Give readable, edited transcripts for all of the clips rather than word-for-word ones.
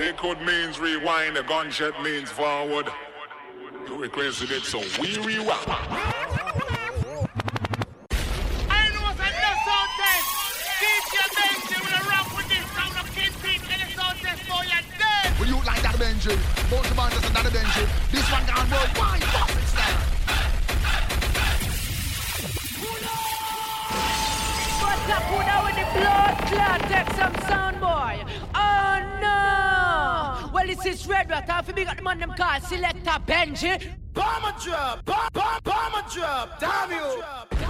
Liquid means rewind, the gunshot means forward. You requested it, so we rewind. I know what's in the sound test. DJ Benji will rock with this round of Kingpin in the sound test for your dead. Will you like that Benji? Both the band is another Benji. This one gone worldwide, fucking style. What's up, Puna, with the blood clot? Take some sound, boy. Oh no! Well, this is Red Rat. If you got the man them called Selector Benji. Bomber drop, bomber drop, damn you.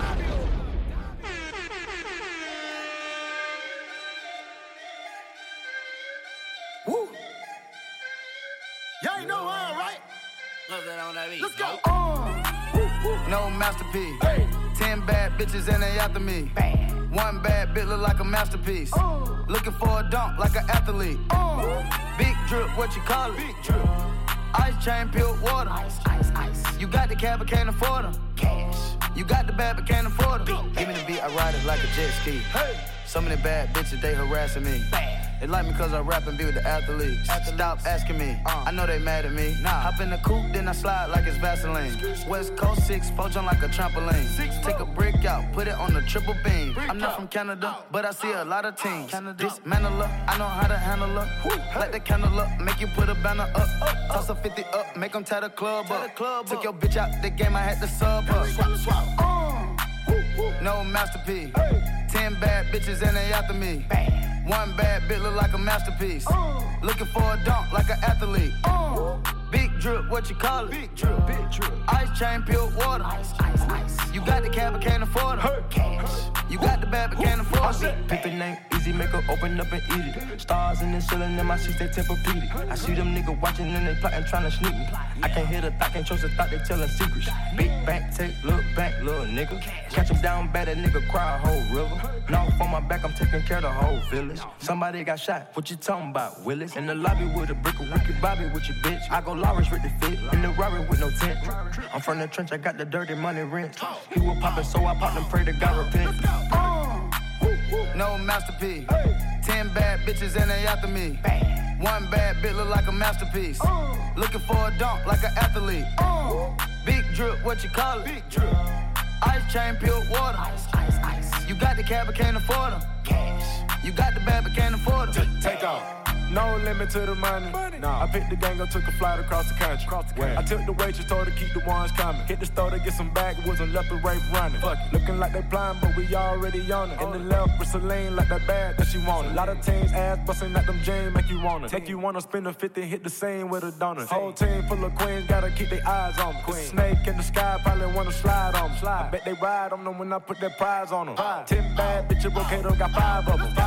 Woo! Y'all know how, right? Let's go. No masterpiece. Hey. 10 bad bitches and they after me. Bad. One bad bitch look like a masterpiece. Looking for a dunk like an athlete. Big drip, what you call it? Big drip. Ice chain, pure water. Ice. You got the cab, but can't afford them. Cash. You got the bad, but can't afford them. Give me the beat, I ride it like a jet ski. Hey. Some of the bad bitches, they harassing me. Bad. They like me cause I rap and be with the athletes. Stop asking me, I know they mad at me. Hop in the coupe, then I slide like it's Vaseline. West Coast 6, jump like a trampoline. Take a brick out, put it on the triple beam. I'm not from Canada, but I see a lot of teams. Dismantle her, I know how to handle her. Light the candle up, make you put a banner up. Toss a 50 up, make them tie the club up. Took your bitch out the game, I had to sub up. Swap. No masterpiece. 10 bad bitches and they after me. One bad bitch look like a masterpiece. Looking for a dunk like an athlete. Big drip, what you call it? Big drip. Ice chain, pure water. Ice. You got the cab, but can't afford it. Cash. You got the bad, but can't afford it. Pick the name, easy, make her open up and eat it. Stars in the ceiling in my seats, they Tempur-Pedic. I see them niggas watching and they plotting, trying to sneak me. I can't hear the thought, can't trust the thought, they telling secrets. Big bank, take, look back, little nigga. Catch him down bad, that nigga cry a whole river. Now on my back, I'm taking care of the whole village. Somebody got shot, what you talking about, Willis? In the lobby with a brick of wicked Bobby with your bitch. I go Lawrence with the fit, in the Rari with no tent. I'm from the trench, I got the dirty money rent. He was poppin', so I popped and pray to God repent. No masterpiece. 10 bad bitches and they after me. One bad bitch look like a masterpiece. Looking for a dunk like an athlete. Big drip, what you call it? Big drip. Ice chain, pure water. Ice. You got the cab, but can't afford them. Cash. You got the bad, but can't afford them. Take off. No limit to the money. I picked the gang up, took a flight across the country. I took the waitress, told her keep the ones coming. Hit the store to get some backwoods and left the rape running. Looking like they blind, but we already on it. In the left with Celine, like that bag that she wanted. A lot of teams ass busting at them jeans, make you wanna. Take you wanna spend a 50, hit the scene with a donut. Whole team full of queens, gotta keep their eyes on them. Snake in the sky, probably wanna slide on them. I bet they ride on them when I put that prize on them. 10 bad bitches, Bocato got 5 of them.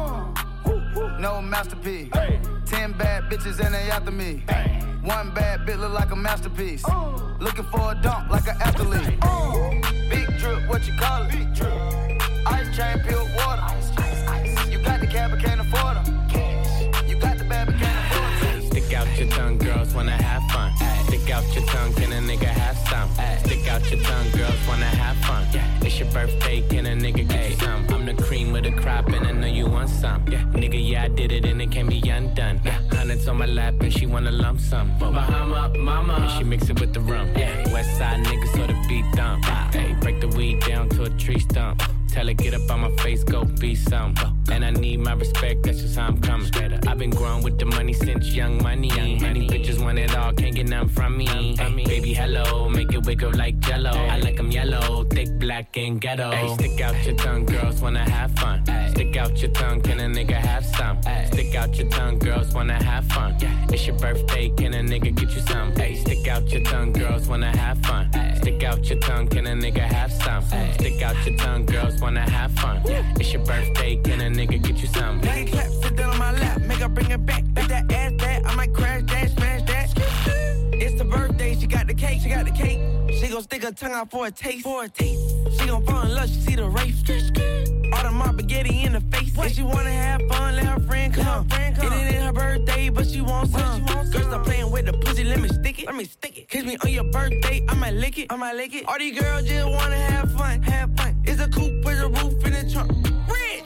No masterpiece. 10 bad bitches and they after me. One bad bitch look like a masterpiece. Looking for a dunk like an athlete. Big drip, what you call it? Big drip. Ice chain, pure water. Ice. You got the cab, but can't afford them. Cash. You got the bad, but can't afford them. Stick out your tongue, girls wanna have fun. Stick out your tongue, can a nigga have some? Stick out your tongue, girls wanna have fun. It's your birthday, can a nigga get you some? I'm the cream of the crop and I know you want some. Nigga, yeah, I did it and it can't be undone. Hundreds on my lap and she wanna lump sum. Bahama, mama, and she mix it with the rum. West side niggas so the beat thump. Hey, break the weed down to a tree stump. Tell her get up on my face, go be some. And I need my respect, that's just how I'm coming. I've been growing with the money since young money. Many bitches want it all, can't get nothing from me. Baby, hello, make it wiggle like jello. I like them yellow, thick, black, and ghetto. Stick out your tongue, girls wanna have fun. Stick out your tongue, can a nigga have some? Stick out your tongue, girls wanna have fun. It's your birthday, can a nigga get you some? Stick out your tongue, girls wanna have fun. Stick out your tongue, can a nigga have some? Stick out your tongue, girls wanna have fun. It's your birthday, can a nigga get you some? Nigga clap, sit down on my lap, make her bring it back. Make that ass back, I might crash that, smash that. It's the birthday, she got the cake. She gon' stick her tongue out for a taste. She gon' fall in love, she see the race. All the my spaghetti in the face. If she wanna have fun, let her friend come. It ain't her birthday, but she wants some. Girls stop playing with the pussy, let me stick it. Kiss me on your birthday, I might lick it. All these girls just wanna have fun. It's a coupe with a roof in the trunk.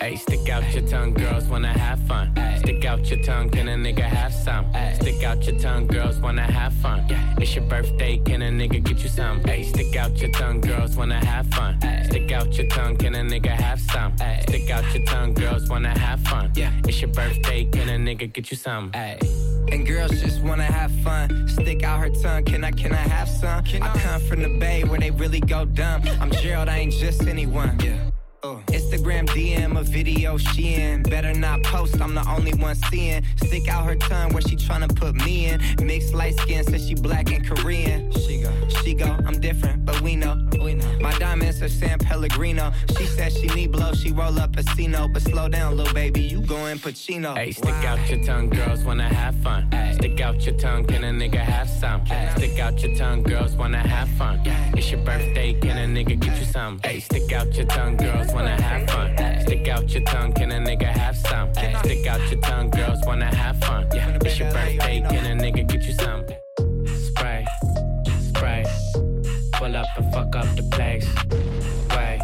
Ay, stick out your tongue, girls wanna have fun. Stick out your tongue, can a nigga have some? Stick out your tongue, girls wanna have fun. It's your birthday, can a nigga get you some? Ay, stick out your tongue, girls wanna have fun. Stick out your tongue, can a nigga have some? Stick out your tongue, girls wanna have fun. It's your birthday, can a nigga get you some? And girls just wanna have fun. Stick out her tongue, can I have some? I come from the Bay where they really go dumb. I'm Gerald, I ain't just anyone. Instagram DM a video she in. Better not post, I'm the only one seeing. Stick out her tongue where she tryna put me in. Mixed light skin, says she black and Korean. She go, I'm different, but we know. My diamonds are San Pellegrino. She said she need blow, she roll up a Cino. But slow down, little baby, you going Pacino. Hey, stick out your tongue, girls wanna have fun. Stick out your tongue, can a nigga have some? Stick out your tongue, girls wanna have fun. It's your birthday, can a nigga get you some? Hey, stick out your tongue, girls wanna have fun. Stick out your tongue, can a nigga have some? Stick out your tongue, girls wanna have fun. It's your birthday, can a nigga get you some? Spray, spray, pull up and fuck up the place. Wait,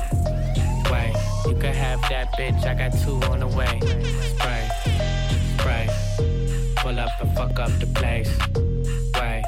you can have that bitch, I got 2 on the way. Spray, spray, pull up and fuck up the place. Wait,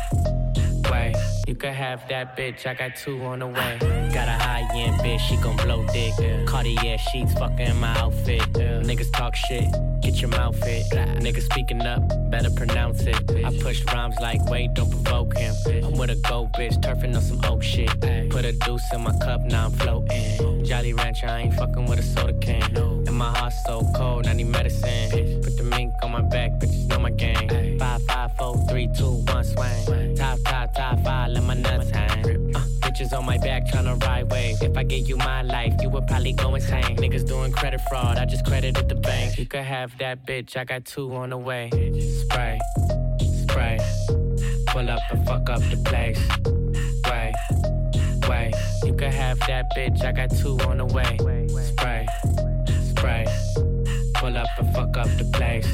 you can have that bitch, I got 2 on the way. Got a high-end bitch, she gon' blow dick. Cartier sheets, fucking in my outfit. Niggas talk shit, get your mouth fit. Niggas speaking up, better pronounce it. I push rhymes like, wait, don't provoke him. I'm with a gold bitch, turfing on some oak shit. Put a deuce in my cup, now I'm floating. Jolly Rancher, I ain't fucking with a soda can. And my heart's so cold, I need medicine. Put the mink on my back, bitches know my game. 5, 5, 4, 3, 2, 1, swing. Top 5, let my nuts hang. Bitches on my back tryna ride wave. If I gave you my life, you would probably go insane. Niggas doing credit fraud, I just credited the bank. You could have that bitch, I got 2 on the way. Spray, spray, pull up and fuck up the place. Wait, you could have that bitch, I got 2 on the way. Spray, spray, pull up and fuck up the place.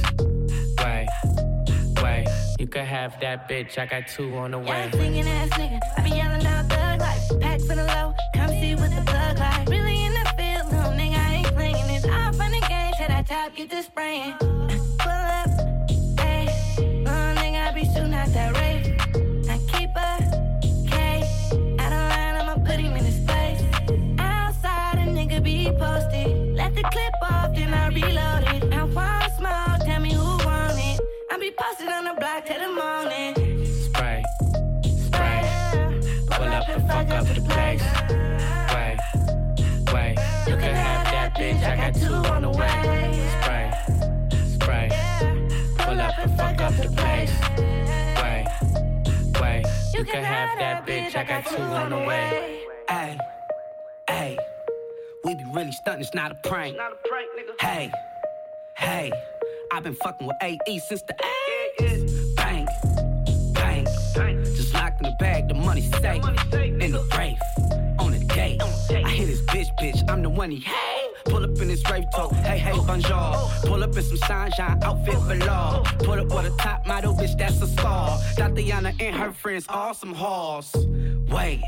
Wait, you could have that bitch, I got 2 on the way. Yeah, singing ass nigga, I be yelling out thug life. Pack for the low, come see what the plug like. Really in the field, little nigga, I ain't playing this. Off on the game, till that top get to spraying. Pull up, hey, little nigga, I be shooting out that race. I keep a K, out of line, I'ma put him in his place. Outside, a nigga be posted. Let the clip off, then I reload it. I want small, tell me who want it. I be posted on the block till the morning. Spray, spray, pull up and fuck up the place. Wait, you can have that bitch, I got 2 on the way. Spray, spray, pull up and fuck up the place. Wait, you can have that bitch, I got 2 on the way. Hey, we be really stuntin', it's not a prank. Hey, I've been fucking with AE since the A. Bang, just locked in the bag, the money safe. In the Wraith, on the gate. I hit his bitch, I'm the one he hate. Pull up in his Wraith talk, hey, bonjour. Pull up in some sunshine, outfit below. Pull up with a top model, bitch, that's a star. Tatiana and her friends, awesome halls. Wait.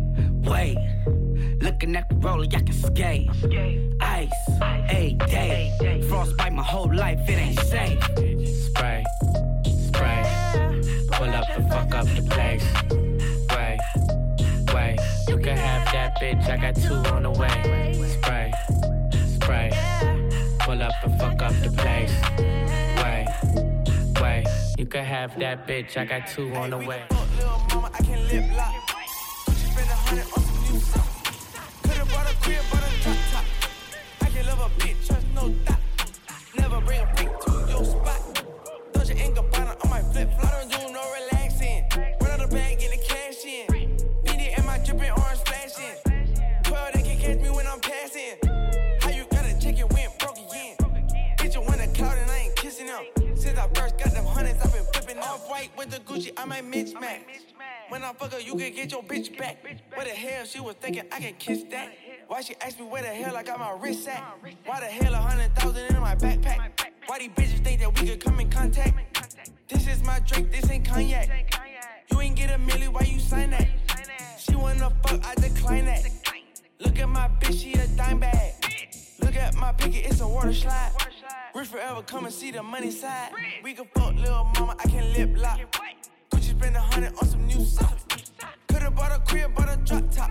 Looking at the roller, I can skate. Ice, A-day. Frostbite my whole life, it ain't safe. Spray, pull up and fuck up the place. Wait, you can have that bitch, I got 2 on the way. Spray, pull up and fuck up the place. Wait, you can have that bitch, I got 2 on the way. Little mama, I can lip lock. Gucci spend 100 on some new stuff. Could've bought a crib, but a drop top. I can love a bitch, trust no doubt. Never bring a freak to your spot. Doja and Gabbana on my flip-flop. I don't do no relaxing. Run out the bag, get the cash in. BD and my dripping orange flashing. 12, they can catch me when I'm passing. How you gotta check it when broke again? Bitch, you want a cloud and I ain't kissing them. Since I first got them hundreds, I've been flipping off-white with the Gucci, I might mismatch. When I fuck her, you can get your bitch back. Where the hell she was thinking I can kiss that? Why she asked me where the hell I got my wrist at? Why the hell 100,000 in my backpack? Why these bitches think that we could come in contact? This is my drink, this ain't cognac. You ain't get a milli, why you sign that? She wanna fuck, I decline that. Look at my bitch, she a dime bag. Look at my picket, it's a water slide. Rich forever, come and see the money side. We can fuck little mama, I can lip lock. Gucci spend 100 on some new socks. Could've bought a crib, bought a drop top.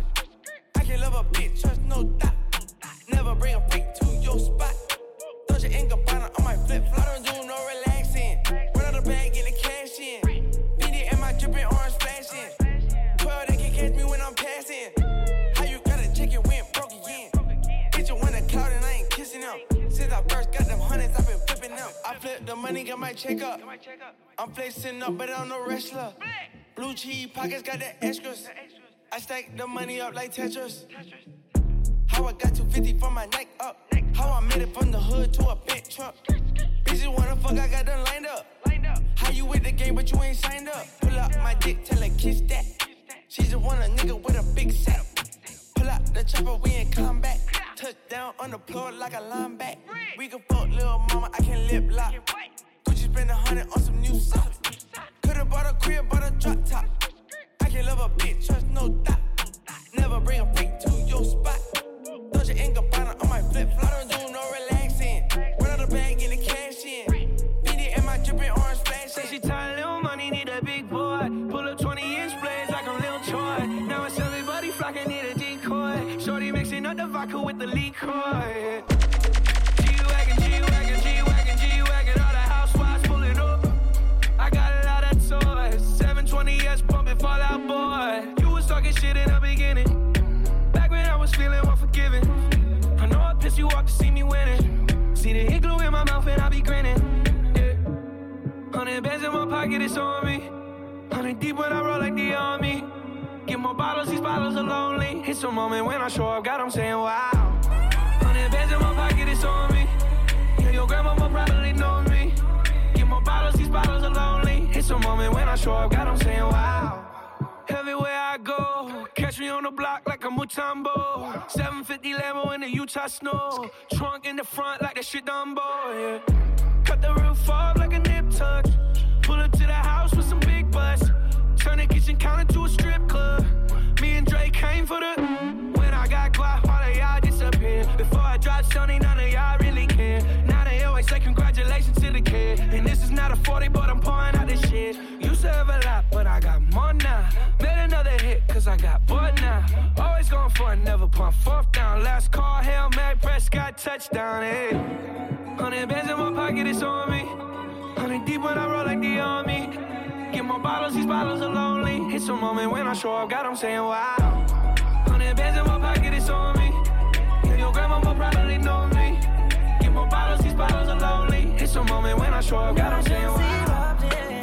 I can love a bitch, trust no doubt. Never bring a freak to your spot. Doja and Gabbana on my flip-flop. I don't do no relaxing. Run out the bag, get the cash in. Beanie and my dripping orange flashing. 12, they can catch me when I'm passing. How you gotta check it when broke again? Bitch, you win a cloud and I ain't kissing them. Since I first got them hundreds, I've been flipping them. I flip the money, got my check up. I'm flexing up, but I'm no wrestler. Blue cheese pockets got the extras. I stack the money up like Tetris. How I got 250 from my neck up. How I made it from the hood to a big truck. Bitches wanna fuck, I got them lined up. How you with the game, but you ain't signed up? Pull up my dick, tell her kiss that. She just want a nigga with a big saddle. Pull out the chopper, we in combat. Touchdown on the floor like a linebacker. We can fuck little mama, I can lip lock. Gucci spend 100 on some new socks. Could've bought a crib, bought a drop top. I can love a bitch, trust no doubt. Never bring a freak to your spot. Doja and Gabbana on my flip-flop. I don't do no relaxing. Run out the bag, get the cash in. Beanie and my dripping orange flashing. Say she tired, little money, need a big boy. Pull up 20-inch blades like I'm Lil Troy. Now it's everybody flocking, need a decoy. Shorty mixing up the vodka with the liquor. G-Wagon, G-Wagon, G-Wagon, G-Wagon. All the housewives pulling up. I got a lot of toys. 720S pumping Fallout Boy. You was talking shit in the beginning. Back when I was feeling unforgiving. I know I pissed you off to see me winning. See the hit glue in my mouth and I be grinning. Yeah. 100 bands in my pocket, it's on me. 100 deep when I roll like the army. Get more bottles, these bottles are lonely. It's a moment when I show up, God, I'm saying wow. 100 bands in my pocket, it's on me. Yeah, your grandma will probably know me. Get more bottles, these bottles are lonely. It's a moment when I show up, God, I'm saying wow. Everywhere I go, catch me on the block like a Mutombo. 750 Lambo in the Utah snow. Trunk in the front like that shit Dumbo, yeah. Cut the roof off like a nip tuck. Pull up to the house with some big butts. Turn the kitchen counter to a strip club. Me and Drake came for the. When I got guap, all of y'all disappear. Before I dropped Sony, none of y'all really care. Now they always say congratulations to the kid. And this is not a 40, but I'm pouring out this shit. Used to have a lot, but I got more now. Made another hit, cause I got bored now. Always going for it, never pump fourth down. Last call, Hail Mary, Prescott, touchdown, hey. 100 bands in my pocket, it's on me. 100 deep when I roll like the army. Get more bottles, these bottles are lonely. It's a moment when I show up, God, I'm saying wow. 100 bands in my pocket, it's on me. Yeah, your grandma will probably know me. Get more bottles, these bottles are lonely. It's a moment when I show up, God, I'm saying wow.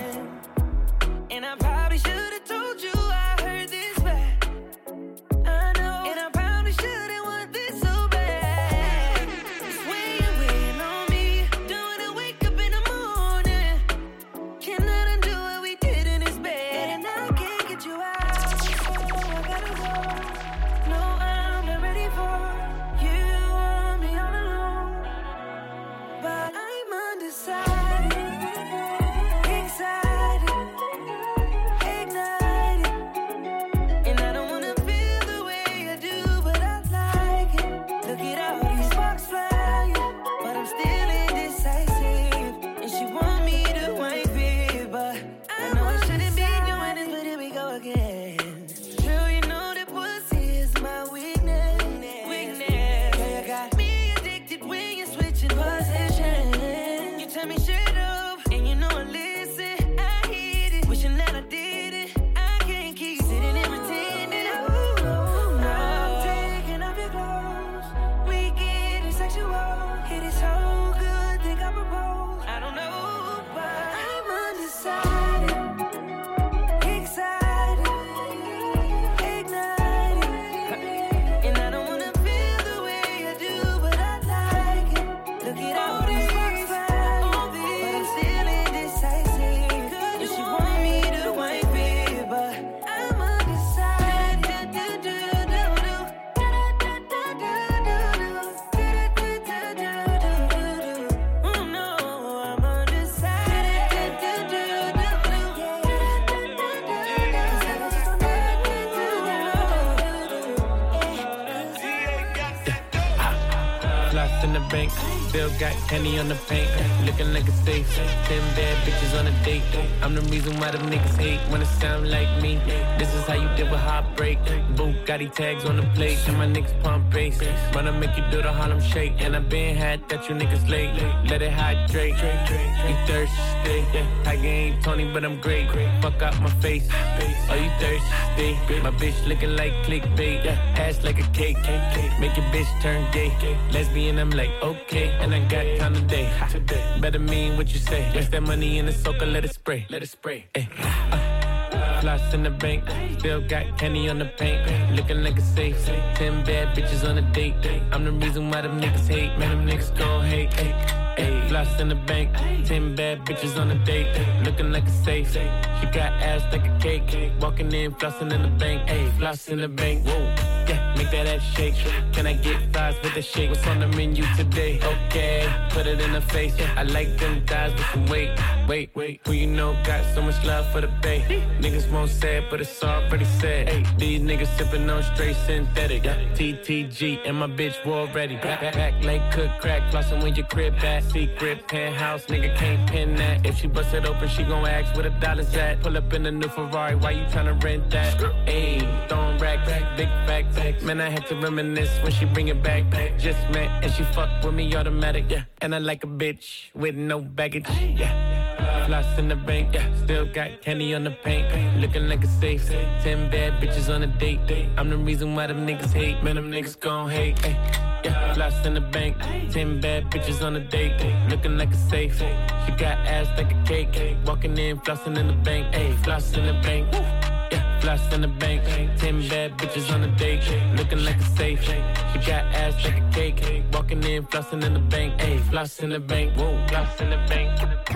And I probably should've told you I heard this back. I know. And I probably shouldn't want this so bad. It's when you're waiting on me. Don't wanna wake up in the morning. Cannot undo what we did in this bed. And I can't get you out. So I gotta go. No, I'm not ready for you. Want me all alone. But I'm undecided. bank, still got candy on the paint. Looking like a safe, 10 bad bitches on a date. I'm the reason why them niggas hate when it sound like me. This is how you deal with heartbreak. Bugatti tags on the plate, and my niggas pump bass. Wanna make you do the Harlem Shake, and I been had that you niggas late. Let it hydrate. You thirsty? Tiger ain't Tony, but I'm great. Fuck out my face. Are you thirsty? My bitch looking like clickbait. Ass like a cake. Make your bitch turn gay. Lesbian, I'm like, okay. And I got time today. Better mean what you say. Waste that money in the soaker, let it spray. Let it spray. Floss in the bank, still got candy on the paint. Looking like a safe, 10 bad bitches on a date. I'm the reason why them niggas hate, man, them niggas gon' hate. Floss in the bank, 10 bad bitches on a date. Looking like a safe, she got ass like a cake. Walking in, flossing in the bank, floss in the bank, whoa. Yeah, make that ass shake. Can I get fries with the shake? What's on the menu today? Okay, put it in the face. I like them thighs with some weight. Wait, who you know got so much love for the bay? Niggas won't say it, but it's already said. These niggas sipping on straight synthetic. TTG and my bitch war ready. Back like cook crack, flossing when your crib at. Secret penthouse, nigga can't pin that. If she bust it open, she gon' ask where the dollars at. Pull up in the new Ferrari, why you tryna rent that? Ayy, throwing racks, big facts. Man, I had to reminisce when she bring it back. Just met and she fucked with me automatic, yeah. And I like a bitch with no baggage, yeah. Floss in the bank, yeah. Still got candy on the paint. Looking like a safe, 10 bad bitches on a date. I'm the reason why them niggas hate, man, them niggas gon' hate, yeah. Floss in the bank, 10 bad bitches on a date. Looking like a safe, she got ass like a cake. Walking in, flossing in the bank, floss in the bank. Floss in the bank, 10 bad bitches on a date. Looking like a safe, she got ass like a cake. Walking in, flossing in the bank, floss in the bank, whoa. Floss in the bank,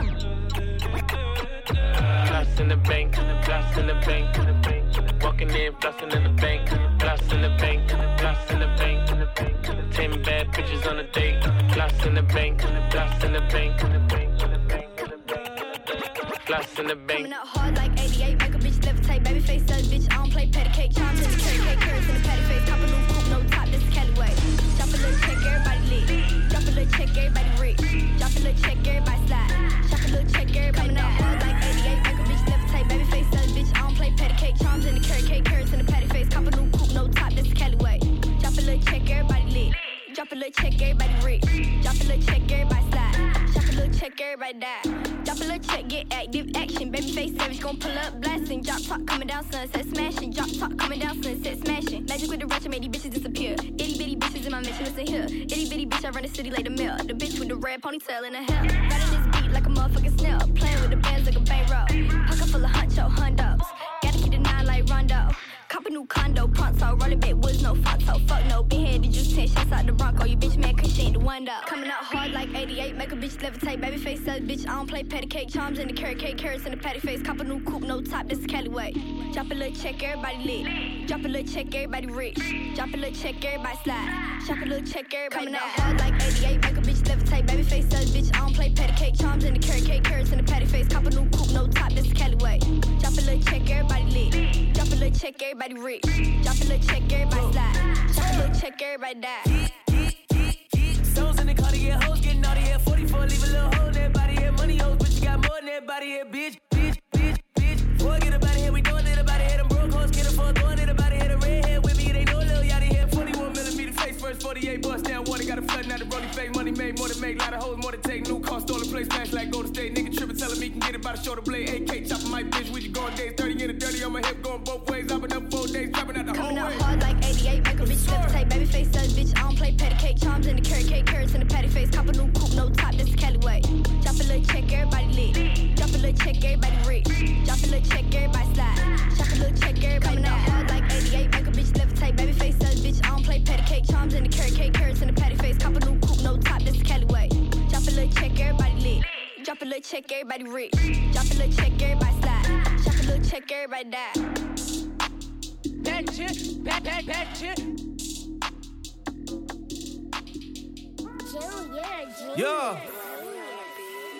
floss in the bank, floss in the bank. Walking in, flossing in the bank, floss in the bank, floss in the bank. 10 bad bitches on a date. Floss in the bank, floss in the bank. Floss in the bank. Coming out hard like 88, make a bitch levitate. Baby face says, bitch, I don't play patty cake. Charms in the carrot cake, carrots in the patty face. Cop a new coupe, no top, this is Cali way. Drop a little check, everybody lit. Drop a little check, everybody rich. Drop a little check, everybody slide. Drop a little check, everybody coming out hard like 88, make a bitch levitate. Baby face says, bitch, I don't play patty cake. Charms in the carrot cake, carrots in the patty face. Cop a new coupe, no top, this is Cali way. Drop a little check, everybody lit. Drop a little check, everybody rich. Drop a little check, everybody slide. Drop a little check, everybody die. Drop a little check, get active action. Baby face savage, gon' pull up blasting. Drop top coming down, sunset smashing. Drop top coming down, sunset smashing. Magic with the ratchet made these bitches disappear. Itty bitty bitches in my mission, listen here. Itty bitty bitch, I run the city like the mill. The bitch with the red ponytail in her hair. Riding this beat like a motherfucking snail. Playing with the bands like a bankroll. Pocket full of huncho, hundos. Gotta keep the 9 like Rondo. Cop a new condo, pronto. Rolling back woods, no pronto. Fuck no, been headed just 10 shots out the Bronco. You bitch man, cause she ain't the one though. Coming out hard like 88, make a bitch levitate. Baby face says, bitch, I don't play patty cake. Charms in the carrot cake, carrots in the patty face. Cop a new coupe, no top, this is Cali way. Drop a little check, everybody lit. Drop a little check, everybody rich. Drop a little check, everybody slide. Drop a little check, everybody coming out hard like 88, make a bitch levitate. Baby face says, bitch, I don't play patty cake. Charms in the carrot cake, carrots in the patty face. Cop a new coupe, no top, this is Cali way. Drop a little check, everybody lit. Drop a little check, everybody rich. Drop a little check, everybody slide. Drop a little check, everybody die. Stones in the car to get hoes, getting naughty here. 44, leave a little hole in that body here. Money hoes, but you got more than that body here. Bitch. Boy, get about it here, we doing it about it here. Them broke hoes, get a fuck, doing it about it here. The red hair with me, it ain't no little yachty here. 41 millimeter face first, 48 bust down water. Got a flooding out the rolling fake. Money made, more to make, lot of hoes, more to take. New car, stolen place, smash like Golden State. Nigga trippin', telling me can get it by the shoulder blade. AK chopping my bitch, we just going days. 30 in the dirty on my hip, going both ways. I've been up 4 days, dropping out the whole way. Coming out hard like 88, make a bitch levitate. Baby face says, bitch, I don't play patty cake. Charms in the carrot cake, carrots in the patty face. Cop a new coupe, no top, this is Cali way. Drop a little check, everybody lit. Drop a little check, everybody rich. Drop a little check, everybody slide. Drop a little check, everybody coming out hard like 88, make a bitch levitate. Baby face says, bitch, I don't play patty cake. Charms in the carrot cake, carrots in the patty face. Cop a new coupe, no top, this is Cali way. Drop a little check, everybody lit. Drop a little check, everybody rich. Drop a little check, everybody slide. Drop a little check, everybody die. That shit. Yeah.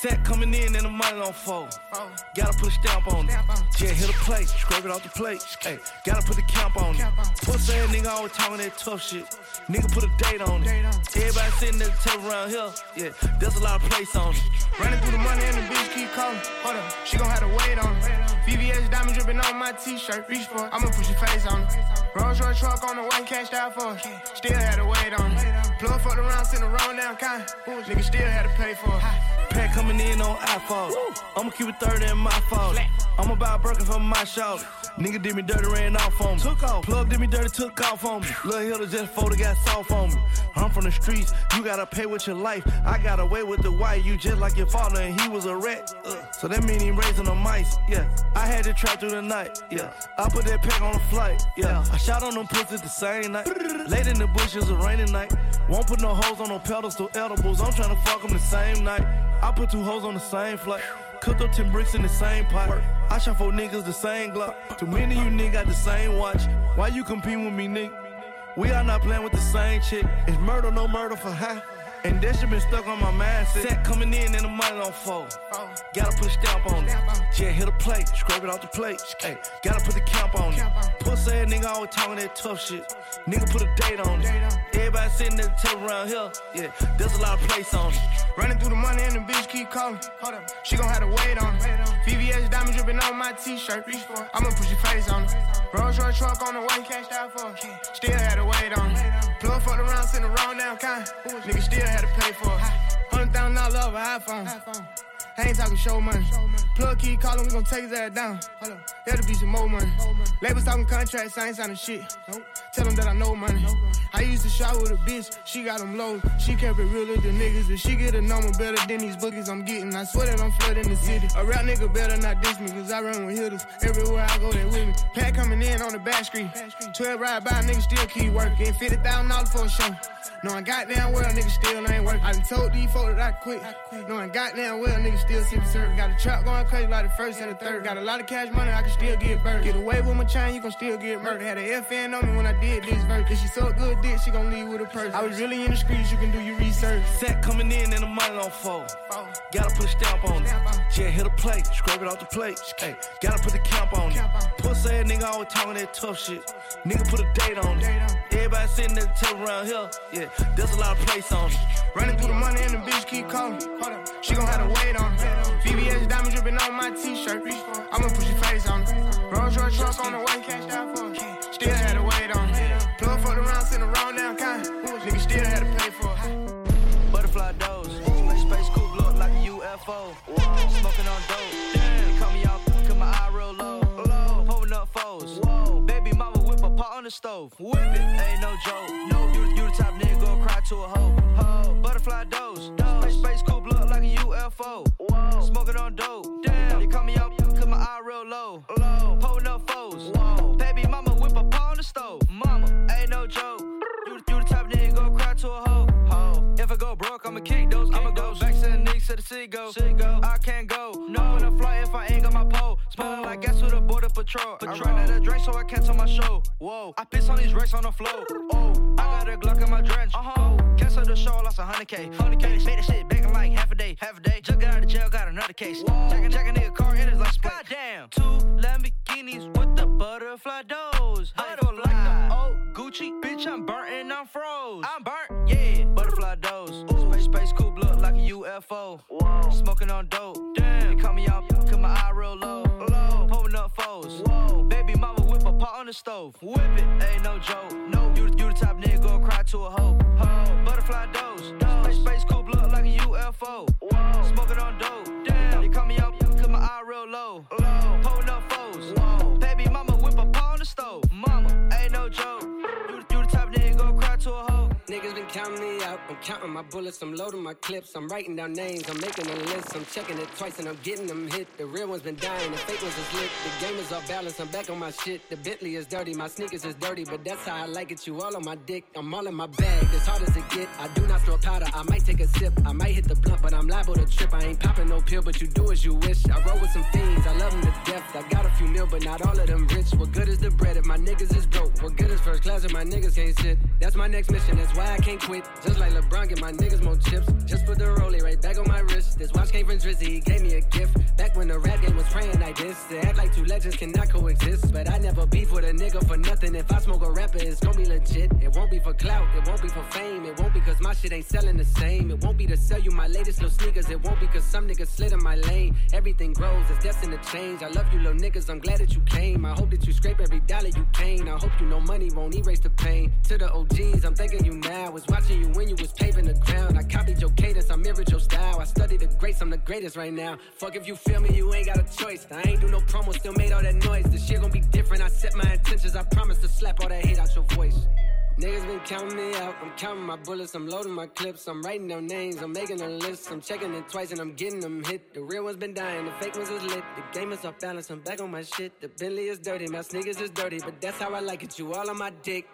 Set coming in and the money on fold. Gotta put a stamp on it. Yeah, hit a plate, scrape it off the plate. Hey, gotta put the camp on it. Pussy ass nigga always talking that tough shit. Nigga put a date on it. Everybody sitting at the table around here. Yeah, there's a lot of place on it. Running through the money and the bitch keep calling. Hold up, she gon' have to wait on it. VVS diamond dripping on my t-shirt. Reach for it, I'ma put your face on it. Rolls Royce truck on the way, cashed out for it. Still had to wait on it. Plug fucked around, sent the wrong down kind. Nigga still had to pay for it. Pack coming in on iPhone. I'ma keep it 30 in my fault. I'ma buy a Birkin for my shout. Nigga did me dirty, ran off on me. Took off. Plug did me dirty, took off on me. Lil' Hilda just folded, got soft on me. I'm from the streets, you gotta pay with your life. I got away with the white, you just like your father and he was a rat. So that mean he raising the mice, yeah. I had to trap through the night, yeah. I put that pack on a flight, yeah. I shot on them pussies the same night. Late in the bushes, a rainy night. Won't put no hoes on no pedestals, edibles. I'm tryna fuck them the same night. I put 2 hoes on the same flight. Cooked up 10 bricks in the same pot. I shot 4 niggas the same Glock. Too many of you niggas got the same watch. Why you compete with me, nigga? We are not playing with the same chick. It's murder, no murder for high. And that shit been stuck on my mindset. Set coming in and the money on fold. Gotta put a stamp on it. Yeah, hit a plate, scrape it off the plate. Hey, gotta put the camp on it. Pussy ass nigga always talking that tough shit. Nigga put a date on it. Everybody sitting at the table around here. Yeah, there's a lot of place on it. Running through the money and the bitch keep calling. Hold up, she gon' have to wait on it. VVS diamond dripping on my t-shirt. Reach for it, I'ma put your face on it. Rolls Royce truck on the way, cashed out for it. Still had to wait on it. Plug fucked around, sent the wrong down kind. Nigga still had to pay for it. $100,000 over iPhone. I ain't talking show money. Plug keep calling, we gon' take his ass down. There'll be some more money. Labels talking contracts, I ain't signing shit. Tell them that I know money. I used to shop with a bitch, she got them low. She kept it real with the niggas. If she get a number better than these bookies I'm getting, I swear that I'm flooding the city. A rap nigga better not diss me, cause I run with hitters. Everywhere I go, they with me. Pack coming in on the back street. 12 ride by, niggas still keep working. $50,000 for a show. Knowing goddamn well niggas still ain't working. I done told these folks that I quit. Knowing goddamn well niggas still sippin' syrup. Got a trap going crazy like the first and the third. Got a lot of cash money, I can still get burned. Get away with my chain, you gon' still get murdered. Had a FN on me when I did this verse. If she so good dick, she gon' leave with a purse. I was really in the streets, you can do your research. Set coming in and the money on fold. Gotta put a stamp on it. Yeah, hit a plate, scrape it off the plate. Hey, gotta put the camp on it. Pussy ass nigga always talking that tough shit. Nigga put a date on it. Everybody sitting at the table around here. Yeah, there's a lot of place on it. Running through the money and the bitch keep calling. Hold up, she gon' have to wait on it. VVS diamond dripping on my t-shirt. I'ma put your face on it. Rolls Royce truck on the way, cashed out for it. Still had to wait on it. Plug fucked around, sent the wrong down kind. Nigga still had to pay for it. Butterfly doors. Space coupe look like a UFO. Smoking on dope. They call me out, cause my eye real low. Pulling up foes. Baby mama whip a pot on the stove. Whip it, ain't no joke. You the type nigga gon' cry to a hoe. Butterfly doors. Space coupe look like a UFO. Smoking on dope. They call me out, cause my eye real low. Pulling up foes. Baby mama whip a pot on the stove. Mama, ain't no joke. You the type nigga gon' cry to a hoe. If I go broke, I'ma kick those. I'ma go back to the Knicks to the city go. I can't go. No in a flight if I ain't got my pole. Smelling like gas with a border patrol. I ran out of drink so I cancel my show. Whoa, I piss on these racks on the floor. Oh, I got a Glock in my drench. Cancel the show, lost 100K. Made that shit back in like half a day. Just got out of jail, got another case. Jack a nigga car in his like split. Goddamn. 2 Lamborghinis with the butterfly doors. I feel like the old Gucci. Bitch, I'm burnt and I'm froze. I'm burnt, yeah. Butterfly doors. Space coupe look like a UFO. Smoking on dope. Damn. They call me out, cause my eye real low. Pulling up foes. Baby mama whip a pot on the stove. Whip it, ain't no joke. You the type nigga gon' cry to a hoe. Butterfly doors. Space coupe look like a UFO. Smoking on dope. Damn. They call me out, cause my eye real low. Pulling up foes. Baby mama whip a pot on the stove. Mama, ain't no joke. You the type nigga gon' cry to a hoe. Niggas been counting me out. I'm counting my bullets. I'm loading my clips. I'm writing down names. I'm making a list. I'm checking it twice and I'm getting them hit. The real ones been dying. The fake ones is lit. The game is off balance. I'm back on my shit. The Bentley is dirty. My sneakers is dirty. But that's how I like it. You all on my dick. I'm all in my bag. As hard as it get. I do not throw powder. I might take a sip. I might hit the blunt. But I'm liable to trip. I ain't popping no pill. But you do as you wish. I roll with some fiends. I love them to death. I got a few mil. But not all of them rich. What good is the bread if my niggas is broke? What good is first class if my niggas can't sit? That's my next mission. That's why I can't quit. Just like LeBron, get my niggas more chips. Just put the rollie right back on my wrist. This watch came from Drizzy, he gave me a gift. Back when the rap game was praying like this. They act like two legends cannot coexist. But I never beef with a nigga for nothing. If I smoke a rapper, it's gon' be legit. It won't be for clout, it won't be for fame. It won't be cause my shit ain't selling the same. It won't be to sell you my latest little sneakers. It won't be cause some niggas slid in my lane. Everything grows, it's destined to change. I love you little niggas, I'm glad that you came. I hope that you scrape every dollar you came. I hope you know money won't erase the pain. To the OGs, I'm thanking you now. Was watching you when you was paving the ground. I copied your cadence, I mirrored your style. I studied the greats, I'm the greatest right now. Fuck if you feel me, you ain't got a choice. I ain't do no promo, still made all that noise. This shit gon' be different, I set my intentions. I promise to slap all that hate out your voice. Niggas been counting me out, I'm counting my bullets, I'm loading my clips, I'm writing down names, I'm making a list, I'm checking it twice and I'm getting them hit. The real ones been dying, the fake ones is lit, the game is off balance, I'm back on my shit. The Bentley is dirty, my sneakers is dirty, but that's how I like it, you all on my dick.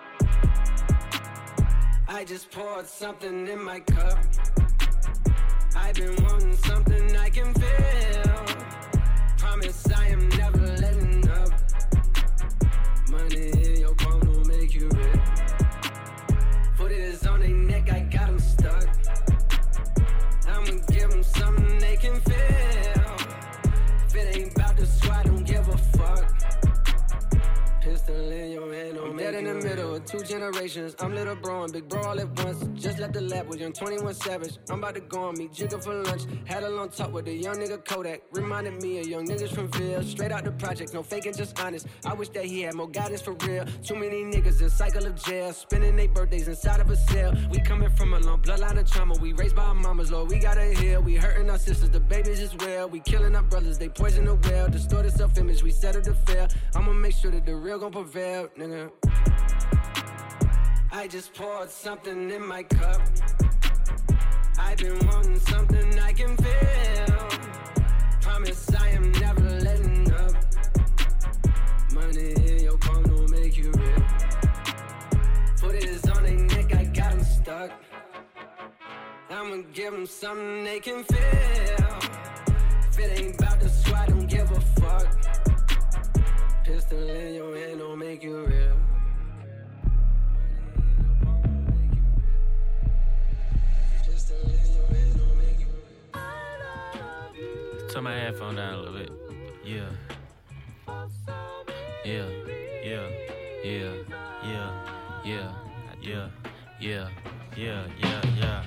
I just poured something in my cup. I've been wanting something I can feel. Promise I am never letting up. Money in your palm don't make you rich. Foot is on their neck, I got them stuck. I'ma give them something they can feel. If it ain't about the squad, don't give a fuck. Pistol in your hand, I'm dead in the middle of two generations. I'm little bro and big bro all at once. Just left the lab with young 21 Savage. I'm about to go on meet Jigga for lunch. Had a long talk with a young nigga Kodak. Reminded me of young niggas from Ville. Straight out the project, no faking, just honest. I wish that he had more guidance for real. Too many niggas in cycle of jail, spending their birthdays inside of a cell. We coming from a long bloodline of trauma. We raised by our mamas, Lord, we gotta heal. We hurting our sisters, the babies as well. We killing our brothers, they poison the well. Distorted self-image, we settle to fail. I'ma make sure that the real gon' prevail, nigga. I just poured something in my cup. I've been wanting something I can feel. Promise I am never letting up. Money in your palm don't make you real. Foot is on their neck, I got them stuck. I'ma give them something they can feel. If it ain't about the squad, don't give a fuck. Pistol in your hand don't make you real. Turn my headphone down a little bit. Yeah. Yeah. Yeah. Yeah. Yeah. Yeah. Yeah. Yeah. Yeah. Yeah. Yeah.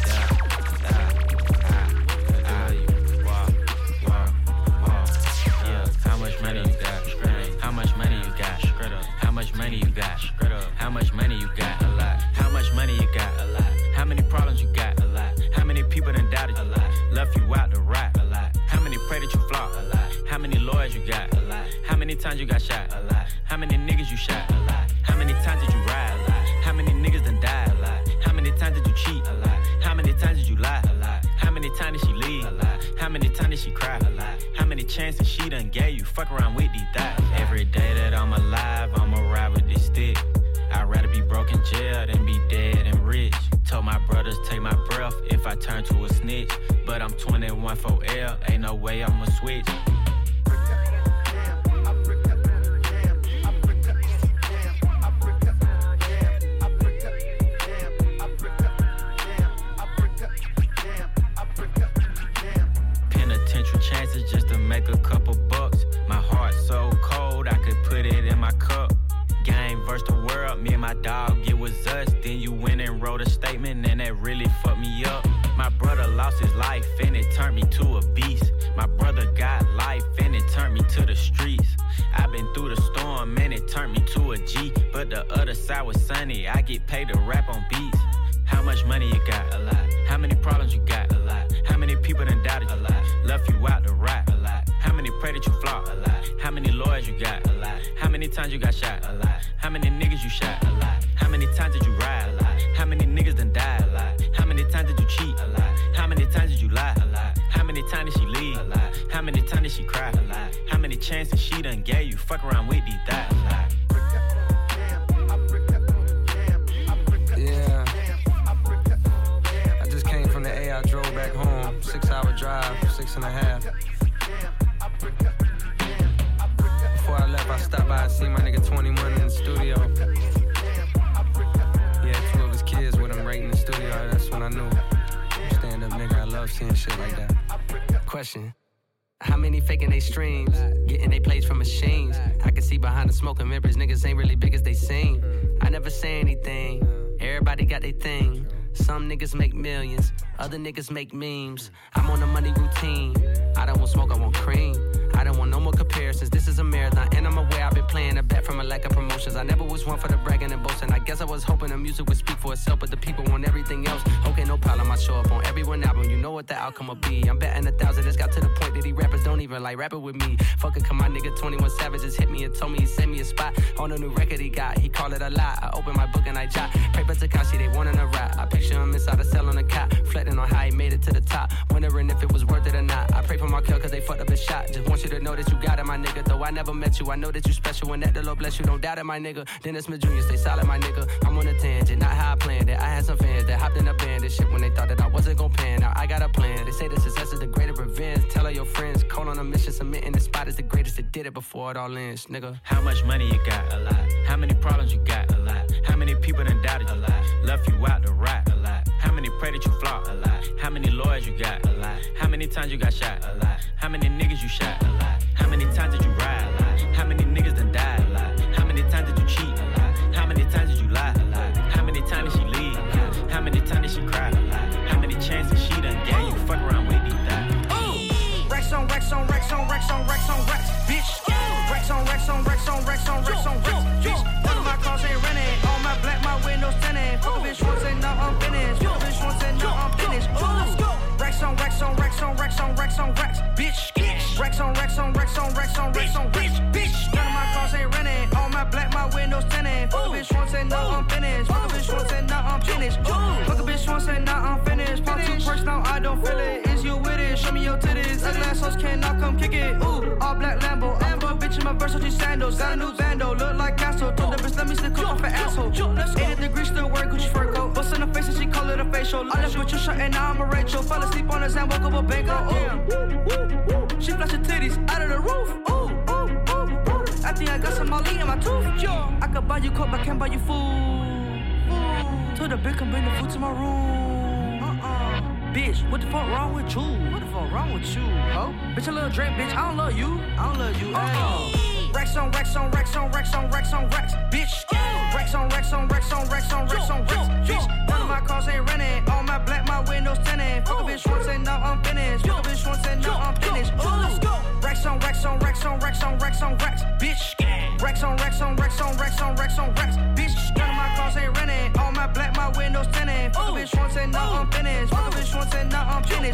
How much money you got? How much money you got? How much money you got? How much money you got? A lot. How much money you got? A lot. How many problems you got? A lot. How many people done doubted you? A lot. Left you out to rot? A lot. How many pray that you flop? A lot. How many lawyers you got? A lot. How many times you got shot? A lot. How many niggas you shot? A lot. How many times did you ride? A lot. How many niggas done died? A lot. How many times did you cheat? A lot. How many times did you lie? A lot. How many times did she leave? A lot. How many times did she cry? A lot. How many chances she done gave you? Fuck around with these thighs. Every day that I'm alive, I'ma ride with this stick. I'd rather be broke in jail than be dead and rich. Told my brothers take my breath if I turn to a snitch. But I'm 21 for L, ain't no way I'ma switch. Penitential chances just to make a couple bucks. My heart so cold, I could put it in my cup. Game versus the world, me and my dog, it was us. Then you went and wrote a statement and that really fucked me up. My brother lost his life and it turned me to a beast. My brother got life and it turned me to the streets. I've been through the storm and it turned me to a G. But the other side was sunny, I get paid to rap on beats. How much money you got? A lot. How many problems you got? A lot. How many people done doubted you? A lot. Left you out to rot? A lot. How many pray that you flop? A lot. How many lawyers you got? A lot. How many times you got shot? A lot. How many niggas you shot? A lot. How many times did you ride? A lot. How many niggas done died? A lot. How many times did you cheat? A lot. How many times did you lie? A lot. How many times did she leave? A lot. How many times did she cry? A lot. How many chances she done gave you? Fuck around with these thighs. A lot. Yeah. I just came from the A, I drove back home. 6-hour drive, 6.5. Before I left, I stopped by and see my nigga 21 in the studio. He had 2 of his kids with him right in the studio. I love seeing shit like that. Question. How many faking they streams? Getting they plays from machines. I can see behind the smoke and mirrors, niggas ain't really big as they seem. I never say anything. Everybody got their thing. Some niggas make millions, other niggas make memes. I'm on a money routine. I don't want smoke, I want cream. I don't want no more comparisons. This is a marathon, and I'm aware I've been playing a bet from a lack of promotions. I never was one for the bragging and boasting. I guess I was hoping the music would speak for itself, but the people want everything else. Okay, no problem, I show up on every one album. You know what the outcome will be. I'm betting 1,000. It's got to the point that these rappers don't even like rapping with me. Fuck it, come my nigga 21 Savage just hit me and told me he sent me a spot on a new record he got. He called it a lie. I opened my book and I jot. Paper Takashi, they wanting a rap. I picture him inside a cell on a cot, reflecting on how he made it to the top, wondering if it was worth it or not. I pray for Markel cause they fucked up his shot. Just want you to know that you got it, my nigga. Though I never met you, I know that you special and that the Lord bless you. Don't doubt it, my nigga. Dennis Smith Jr., stay solid, my nigga. I'm on a tangent, not how I planned it. I had some fans that hopped in a band and shit when they thought that I wasn't gon' pan. Now I got a plan. They say the success is the greater revenge. Tell all your friends, call on a mission, submitting the spot is the greatest that did it before it all ends, nigga. How much money you got? A lot. How many problems you got? A lot. How many people done doubted you? A lot. Left you out to rot? A lot. How many pray that you flop? A lot. How many lawyers you got? A lot. How many times you got shot? A lot. How many niggas you shot? A lot. How many times did you ride? A lot. How many niggas done died? A lot. How many times did you cheat? A lot. How many times did you lie? A lot. How many times did she leave? A lot. How many times did she cry? A lot. How many chances she done gave you? Fuck around with these thighs. Racks on racks on racks on racks on racks on racks, bitch. Racks on racks on racks on racks on racks on racks, bitch. None of my cars ain't rented. All my black, my windows tinted. Fuck a bitch once and now I'm finished. Fuck a bitch once and now I'm finished. Racks on racks on racks on racks on racks on racks, bitch. Racks on racks on racks on racks on racks on racks, bitch. None of my cars ain't rented. All my black, my windows tinted. Fuck a bitch once and now I'm finished. Fuck a bitch once and now I'm finished. Fuck a bitch once and now I'm finished. Pop 2 perks now I don't feel it. Is you with it? Show me your titties. Ugly ass hoes cannot come kick it. Ooh, all black Lambo. I put a bitch in my Versace sandals. Got a new bando, look like Castro. Told the bitch let me slip off an asshole. 80 degrees still wearing Gucci fur coat. Bust in the face and she call it a facial. I left with your shirt and now I'm a Rachel. Fell asleep on his hand, woke up a bango. Ooh, she flash her titties out of the roof. Ooh, I think I got some Molly in my tooth. I could buy you coke, but can't buy you food. Told the bitch come bring the food to my room. Bitch, what the fuck wrong with you? What the fuck wrong with you? Oh, bitch, a little Drake, bitch. I don't love you. I don't love you. Racks on racks on racks on racks on racks on racks, bitch. Racks on racks on racks on racks on racks on racks, bitch. None of my cars ain't rented. All my black, my windows tinted. Fuck a bitch once and now I'm finished. Fuck a bitch once and now I'm finished. Racks on racks on racks on racks on racks on racks, bitch. Racks on racks on racks on racks on racks on racks, bitch. None of my cars ain't rented. All my black, my windows tinted. Fuck a bitch once and now I'm finished. Fuck a bitch once and now I'm finished.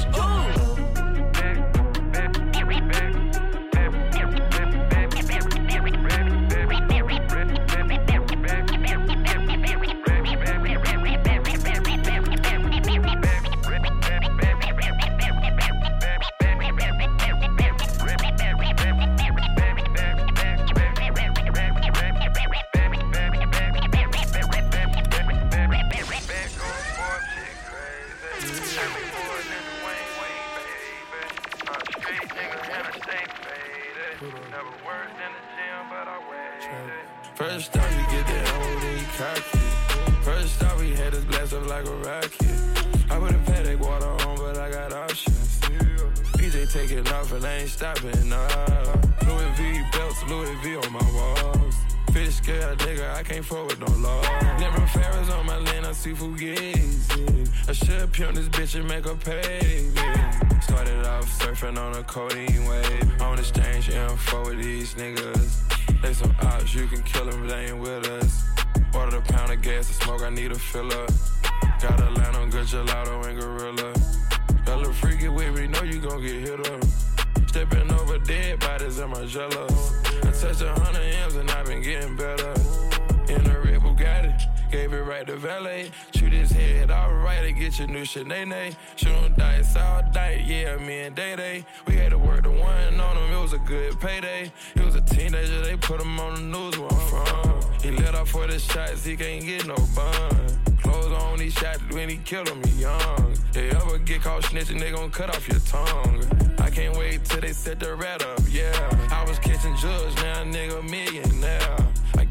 First off, we get that hoe, then you cocky. First off, we had us blast up like a rocket. I put a Paddock water on, but I got options. PJ taking off and I ain't stopping, nah. Louis V belts, Louis V on my walls. Fish scale, nigga, I can't fuck with no law. Never Ferris on my land, I see Fugazi. I should pimp this bitch and make her pay, baby. Started off surfing on a codeine wave. On exchange info with these niggas. They some ops, you can kill them, they ain't with us. Ordered a pound of gas to smoke, I need a filler. Got a line on good gelato and gorilla. That little freaky with me, know you gon' get hit up. Stepping over dead bodies in my jello. I touched 100 M's and I been getting better. In a red Bugatti, gave it right to valet. Shoot his head alright to get your new Sinead. Shoot him dice all night, yeah, me and Day-Day. We had to work the one on him, it was a good payday. He was a teenager, they put him on the news where I'm from. He let off for the shots, he can't get no bun. Clothes on, he shot when he killed him, he young. They ever get caught snitching, they gon' cut off your tongue. I can't wait till they set the rat up, yeah. I was catching drugs, now a nigga millionaire. I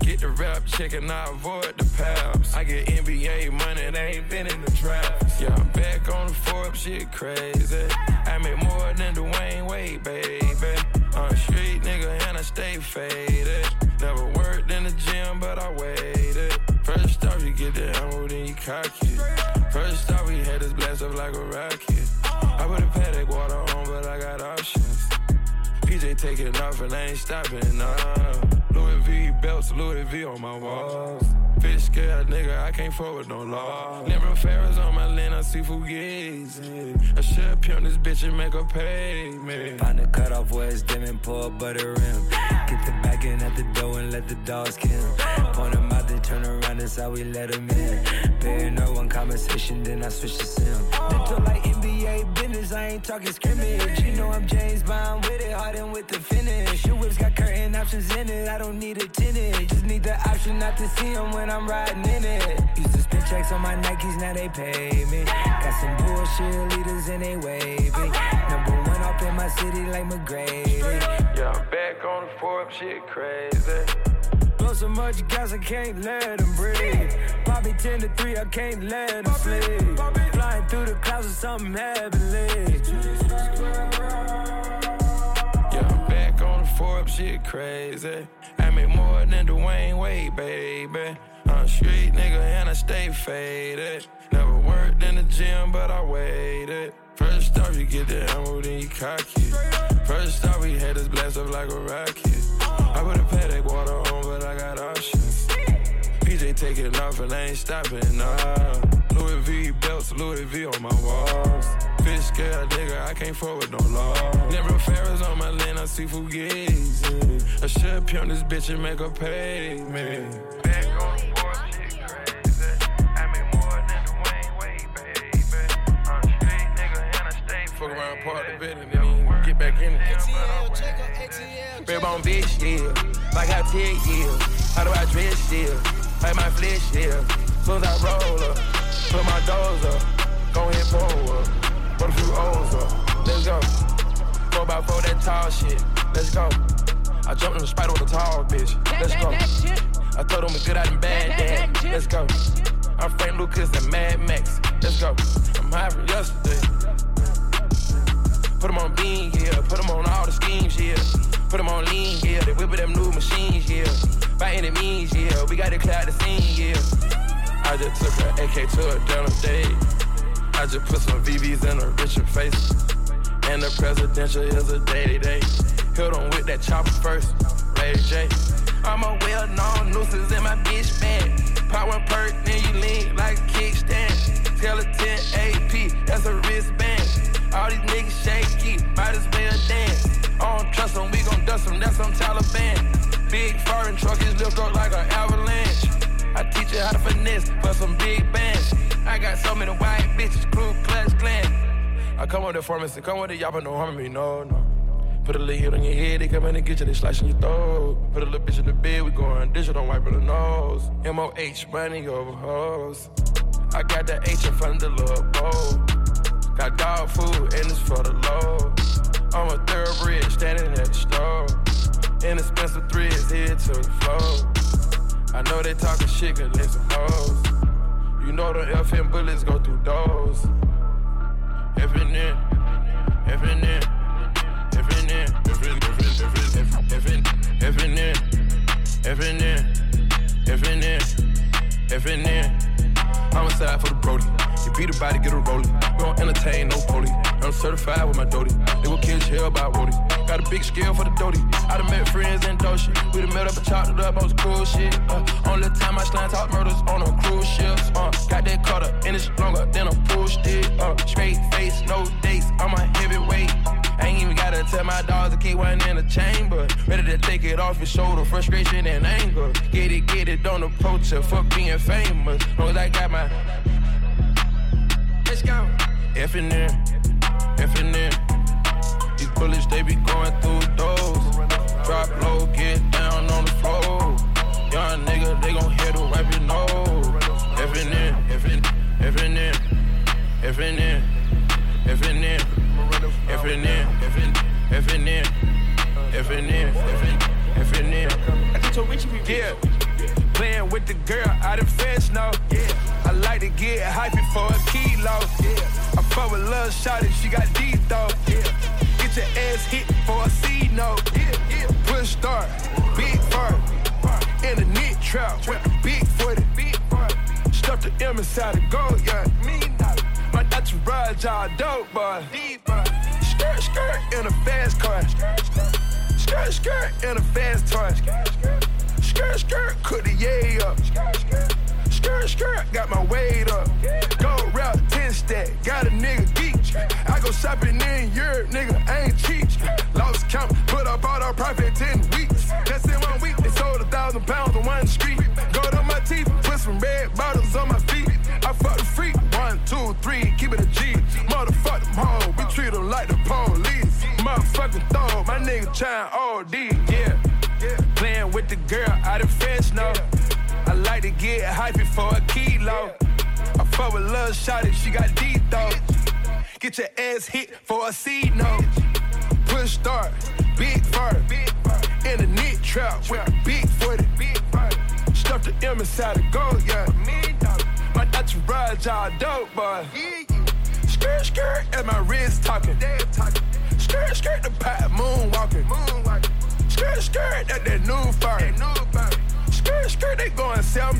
Get the rap check and I avoid the paps. I get NBA money, they ain't been in the drafts. Yeah, I'm back on the Forbes, shit crazy. I make more than Dwayne Wade, baby. I'm a street nigga and I stay faded. Never worked in the gym, but I waited. First off, you get the ammo, then you cock it. First off, we had this blast up like a rocket. I put a paddock water on, but I got options. PJ taking off and I ain't stopping, nah. Louis V belts, Louis V on my walls. Fish scared nigga, I can't forward no law. Never Ferris on my lane, I see Fugazi. I should pimp this bitch and make her pay me. Find the cutoff where it's dim and pour a butter rim. Get the back in at the door and let the dogs kill. Point them out, then turn around, that's how we let them in. Bear no one conversation, then I switch to sim. Mental like NBA business, I ain't talking scrimmage. You know I'm James Bond with it, hardened with the finish. Your whip's got curtain options in it, I don't need a tenant. Just need the option not to see them when I'm riding in it. Used to spend checks on my Nikes, now they pay me. Got some bullshit leaders and they wavy. Number one off in my city like McGrady. Yeah, I'm back on the Forbes, shit crazy. Blow so much gas, I can't let them breathe. Bobby 10 to 3, I can't let them sleep. Flying through the clouds with something heavenly. Yeah, I'm back on the Forbes, shit crazy. I make more than Dwayne Wade, baby. I'm a street nigga and I stay faded. Never worked in the gym, but I waited. First off, you get the ammo, then you cock it. First off, we had this blast up like a rocket. I put a paddock water on, but I got options. PJ taking off and I ain't stopping, nah. Louis V belts, Louis V on my walls. Fish scared nigga, I can't forward no law. Never Ferris on my lane, I see Fugazi. I should pimp this bitch and make her pay me. Back on the board, shit crazy. I make more than Dwayne Wade, baby. I'm a street nigga and I stay fuck around, part the bed and then get back in it. Rib on bitch, yeah. I got 10 years. How do I dress still? Like my flesh, yeah. Soon as I roll up, put my doors up. Go ahead, pull up. Put a few O's up. Let's go. 4x4, that tall shit. Let's go. I jumped in the spider with a tall bitch. Let's go. I told him a good out and bad dad. Let's go. I'm Frank Lucas and Mad Max. Let's go. I'm high from yesterday. Put them on bean, yeah. Put them on all the schemes, yeah. Put them on lean, yeah. They whip with them new machines, yeah. By any means, yeah. We got to clear out the scene, yeah. I just took an AK to a down date. I just put some VVs in a Richard face. And the presidential is a day-to-day. Hit on with that chopper first, Ray J. I'm a well-known nuisance in my bitch band. Pop one perk, then you lean like a kickstand. Tell a 10 AP, that's a wristband. All these niggas shaky, might as well dance. I don't trust them, we gon' dust them, that's some Taliban. Big foreign truck is lift up like an avalanche. I teach you how to finesse for some big bands. I got so many white bitches, Ku Klux Klan. I come with the pharmacy, come with the y'all, but no harm me, no. Put a little hit on your head, they come in and get you, they slicing your throat. Put a little bitch in the bed, we going digital, don't wipe her nose. MOH, money over hoes. I got the H in front of the little bowl. Got dog food, and it's for the low. I'm a thoroughbred, standing at the store. Inexpensive threads, head to the floor. I know they talking shit, cause they some hoes. You know the FN bullets go through doors. FNN, FNN, FNN, FNN, FNN, FNN, FNN. Homicide for the Brody. You beat a body, get a rolling. We don't entertain no police. I'm certified with my Doty. They will kill hell by Wody. Got a big scale for the Doty. I done met friends in Doshi. We done met up and chopped it up on some cool shit. Only time I slime talk murders on a cruise ships. Got that cutter and it's longer than a pull stick. Straight face, no dates. I'm a heavyweight. I ain't even gotta tell my dogs to keep one in the chamber. Ready to take it off his shoulder, frustration and anger. Get it, don't approach her, fuck being famous. Long as I got my... Let's go. FNN, FNN. These bullets, they be going through doors. Drop low, get down on the floor. Young nigga, they gon' hit to wipe your nose. FNN, FNN, FNN, FNN, FNN, FNN, FNN, FNN, FNN. I get your Richie people. Yeah. Playing with the girl out in French, no. Yeah. I like to get hypey for a kilo. Yeah. I fuck with lil' shawty, she got deep though. Yeah. Get your ass hit for a C note. Yeah. Yeah. Push start, big fart. In the knit trap with the big footy. Stuff the M inside the gold, yeah. My entourage all dope, boy. Skirt, skirt in a fast car. Skirt, skirt in a fast toy. Skirt, skirt, cook the yay up. Skirt, skirt, got my weight up. Gold route, 10 stack, got a nigga geek. I go shopping in Europe, nigga, I ain't cheap. Lost count, put up all our profit 10 weeks. Just in 1 week, they sold 1,000 pounds on one street. Gold on my teeth, put some red bottles on my feet. I fuck the freak, 1, 2, 3, keep it a G. Motherfuck them hoes, we treat them like the police. Motherfucking throw, my nigga trying OD, yeah. Playing with the girl out in French, no. I like to get hypey for a kilo. I fuck with lil' shawty, she got deep though. Get your ass hit for a C note. Push start, big fart. In the knit trap with a big footy. Stuff the M inside the gold, yeah. My entourage all dope, boy. Skirt, skirt, and my wrist talking. Skirt, skirt, the pot moonwalking. Skirt, skirt, that new fire. Skirt, skirt, they going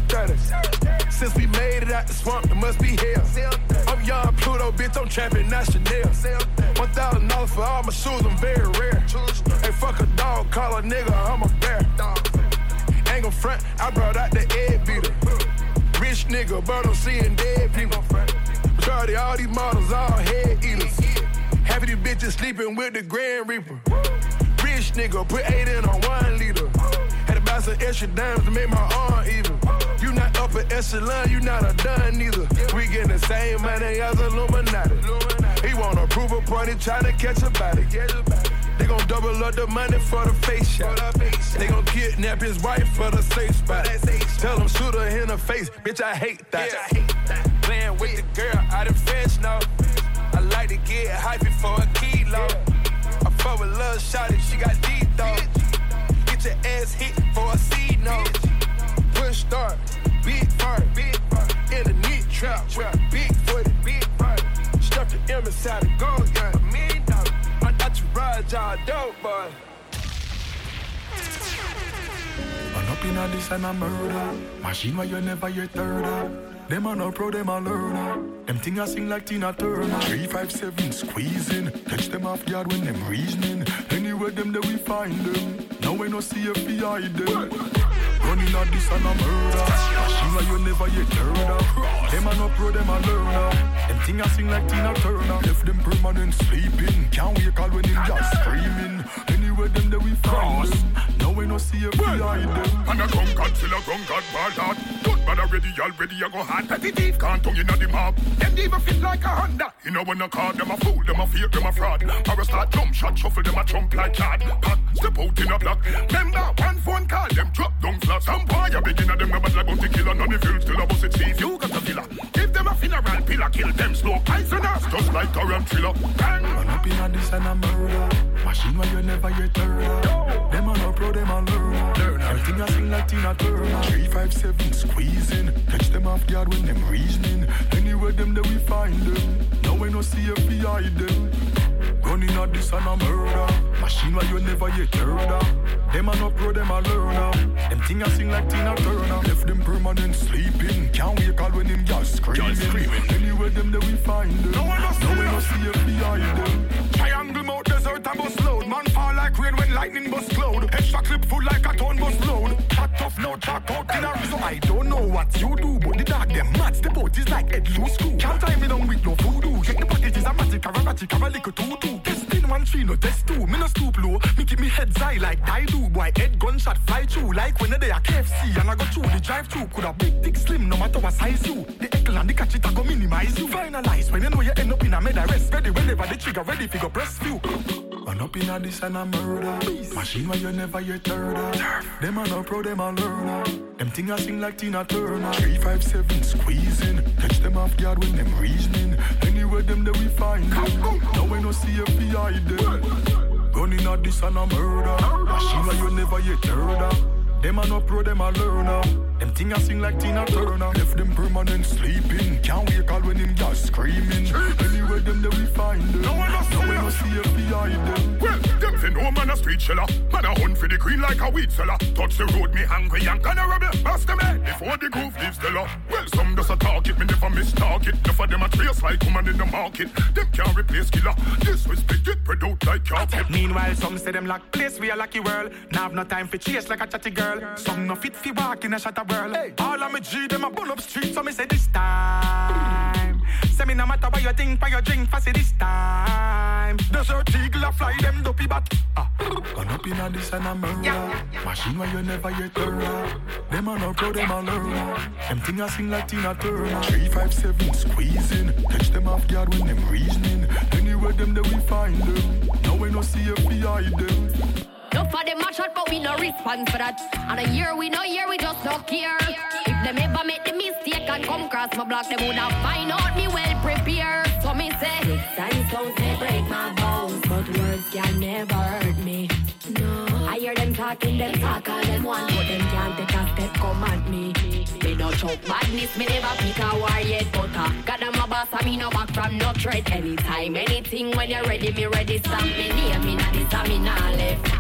730. Since we made it out the swamp, there must be hell. I'm young Pluto, bitch, I'm trapping, not Chanel. $1,000 for all my shoes, I'm very rare. Hey, fuck a dog, call a nigga, I'm a bear. Ain't gon' front, I brought out the egg beater. Rich nigga, but I'm seeing dead people. Majority all these models, all head eaters. Half of these bitches sleeping with the Grand Reaper. Rich nigga, put 8 in on 1 liter. Had to buy some extra dimes to make my arm even. You not upper echelon, you not a done neither. We getting the same money as Illuminati. He want a proof a party, tryna catch a body. They gon' double up the money for the face shot. They gon' kidnap his wife for the safe spot. Tell him shoot her in the face, bitch, I hate that. Playing with the girl out in French, no. I like to get hypey for a kilo. I fuck with lil' shawty, she got deep though. Get your ass hit for a C note. Push start, big fart. In the knit trap with a big footy. Stuff the M inside the gold, yeah. My entourage all dope, boy. Man up inna this and a murder. Machine where you never yet heard. Them a no pro, them a learner. Them thing a sing like Tina Turner. 357 squeezing. Catch them off guard when them reasoning. Anywhere them there we find them. Now we no see if we hide them. Running at this and a murder. Machine where you never yet heard of. Them a no pro, them a learner. Them thing a sing like Tina Turner. Left them permanent sleeping. Can't wake up when them just screaming. Anywhere them there we find them. Now we no see if we hide them. And a drunkard, still a drunkard, bad heart. Good man already, I go hard. Petty thief can't tongue inna the mob. Them even fit like a Honda. You know when I call them a fool, them a fake, them a fraud. Or a start jump shot, shuffle them a jump like Chad. Pack, step out in a block. Remember, one phone call, them drop down flat. Some boy a begin at them a bad like bounty killer. None of you still a bust it thief. You got a villa. Give them a funeral pillar, kill them slow. Poisonous, just like a ram thriller. Bang. Man up inna this and a murder. Machine where you never yet heard of. Them a no pro, them a learner. Everything a sing like Tina Turner. 357 squeezing. Catch them off guard when them reasoning. Anywhere them there we find them. Now we no see if we hide them. Running at this and a murder. Machine where you never yet heard of. Them a no pro, them a learner. Them thing a sing like Tina Turner. Left them permanent sleeping. Can't wake up when them just screaming. Anywhere them there we find them. Now we no see if we hide them. Triangle mode desert and bus load. Man fall like rain when lightning bust cloud. Extra clip full like a ton bus load. Cut off no track out in a so I don't know what you do, but the dog them mats. The boat is like head loose screw. Can't tie me down with no voodoo. Check the package is a matic, have a little tutu. Test in 1 3, no test 2. Me no stoop low. Me keep me head high like I do. Boy head gunshot fly through like when they are KFC and I go through the drive through. Could a big thick slim no matter what size you. The eckle and the catch it I go minimize you. Finalize when you know you end up in a med arrest. Ready whenever the trigger ready fi go press few. Man up inna this and a murder. Machine where you never yet heard of. Them a no pro, them a learner. Them thing a sing like Tina Turner. 357 squeezing. Catch them off guard when them reasoning. Anywhere them there we find them. Now we no see if we hide them. Running at this and a murder. Machine where you never yet heard of. Them a no pro, them a learner. Them thing I sing like Tina Turner. Left them permanent sleeping. Can't wake all when him just screaming. Anyway, them there we find them. No one no see if we hide them. Well, them say no man a street sheller. Man a hunt for the green like a weed seller. Touch the road, me hungry and kinda rebel. Bust them head before the groove leaves the law. Well, some does a talk it, me never miss target. Enough of them a trace like woman in the market. Them can't replace killer. Disrespect get spread out like carpet. Meanwhile, some say them like place we a lucky world. Now have no time for chase like a chatty girl. Some no fit fi walk in a shatter world. Hey. All of me G them a bull up street, so me say this time. Say me no matter what you think, for your drink, for say this time. Desert eagle a fly them dopey bat. Gone up in a this and a mirror. Machine where you never yet heard. Them a no pro, them a learn. Them thing a sing like Tina Turner. 357 squeezing. Catch them off guard when them reasoning. Anywhere them there we find them. Now we no see if we hide them. No for them a shot, but we no response for that. And a year we no year, we just don't care. If them ever make the mistake and come cross my block, them would have find out me well prepared. So me say, sticks and stones may break my bones, but words can never hurt me. No, I hear them talking, them talk all them want, but them can't take a step come at me. Me no choke badness, me never pick a war yet, but God I'm a boss, I me no back from no threat. Anytime, anything, when you're ready, me ready. Stamp me near me, not this, I me not left.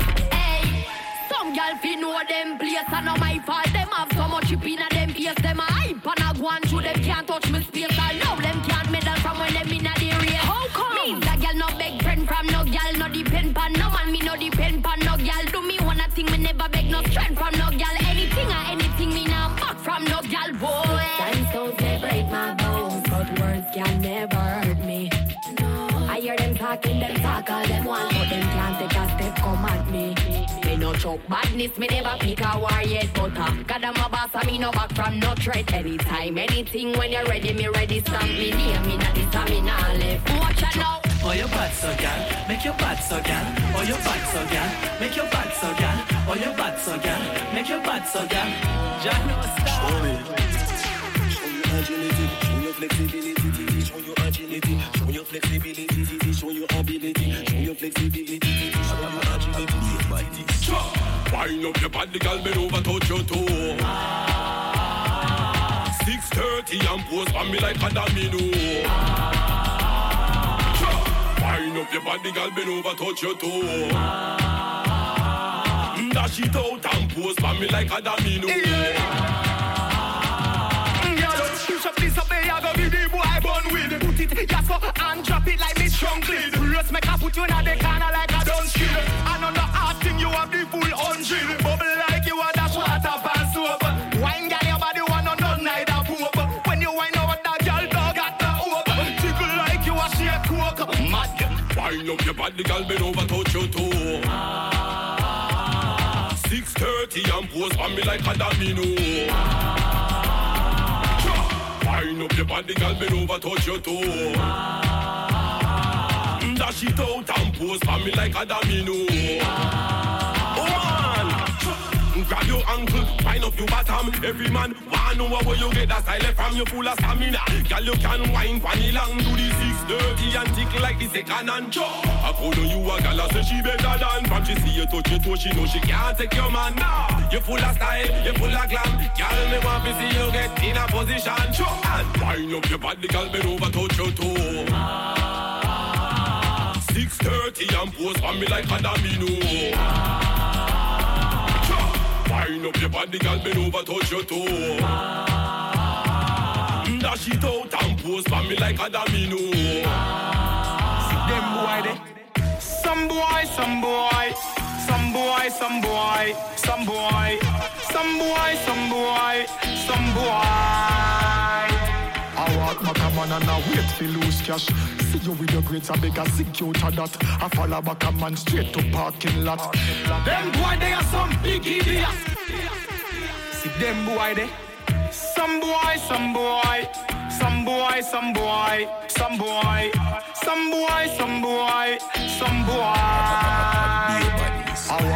Some girl fi know them place and not my fault. Them have so much chip in a them face. Them a hype and a go on through them can't touch me space. I know them can't medal from when them in a the race. How come? Me a girl no beg friend from no girl. No depend pan no man, me no depend pan no girl. Do me one a thing, me never beg no strength from no girl. Anything or anything, me nah back from no girl. Boy, and stones may break my bones, but words can never hurt me. No, I hear them talking, them talk all them want, but them can't take a step come at me. Me no choke badness, me never pick a war yet, but God I'm a boss, I me no back from no threat. Anytime, anything, when you're ready, me ready. Stamp me near me, not this, I me not left. Watch out now. Oh, your bad so gal, make your bad so gal. Oh, your bad so gal, make your bad so gal. Oh, your bad so gal, make your bad so gal. Jack no stop. Show me. Show your agility, show your flexibility, show your agility, show your flexibility, show your ability, show your flexibility, show your agility. Wind up your body, girl, bend over, touch your toe. 6:30 and pose for me like a domino. Wind up your body, girl, bend over, touch your toe. Dash it out and pose for me like a domino. Girl, push up this up there, I go be the boy born with. Put it, yes, and drop it like Miss Strongly. Rest make I put you in the corner like a don't skill. I know the hard thing, you have the full unchill. Bubble like you are dash water pass soap. Wine girl, your body one on none neither poop. When you wine over that girl, dog at the hope. Tickle like you a shake coke. Mad. Wind up your body, girl, bend over, touch your toe. 6:30 and pose for me like a domino. Wind up your body, girl, bend over, touch your toe. Dash it out and pose for me like a domino. Grab your ankle, wind up your bottom. Every man wanna know where you get that style from. You full of stamina. Girl, you can wine funny long. Do the 6:30 and tickle like the second and jaw. I call you a gal, say she better than. From she see you touch your toe, she know she can't take your man. Nah, you full of style, you full of glam. Girl, me want to see you get in a position. And wind up your body, girl, bend over, touch your toe. 6:30 and pose for me like a domino. Wind up your body, girl, bend over, touch your toe. Dash it out and pose for me like a domino. See them boy there. Some boy, some boy, some boy, some boy, some boy, some boy, some boy, some boy. I walk back a man and I wait for lose cash. See you with your grades, I beg a secure to that. I follow back a man straight to parking lot. Them boy, they are some big idiots. See them boy there. Some boy, some boy, some boy, some boy, some boy, some boy, some boy, some boy. I walk back a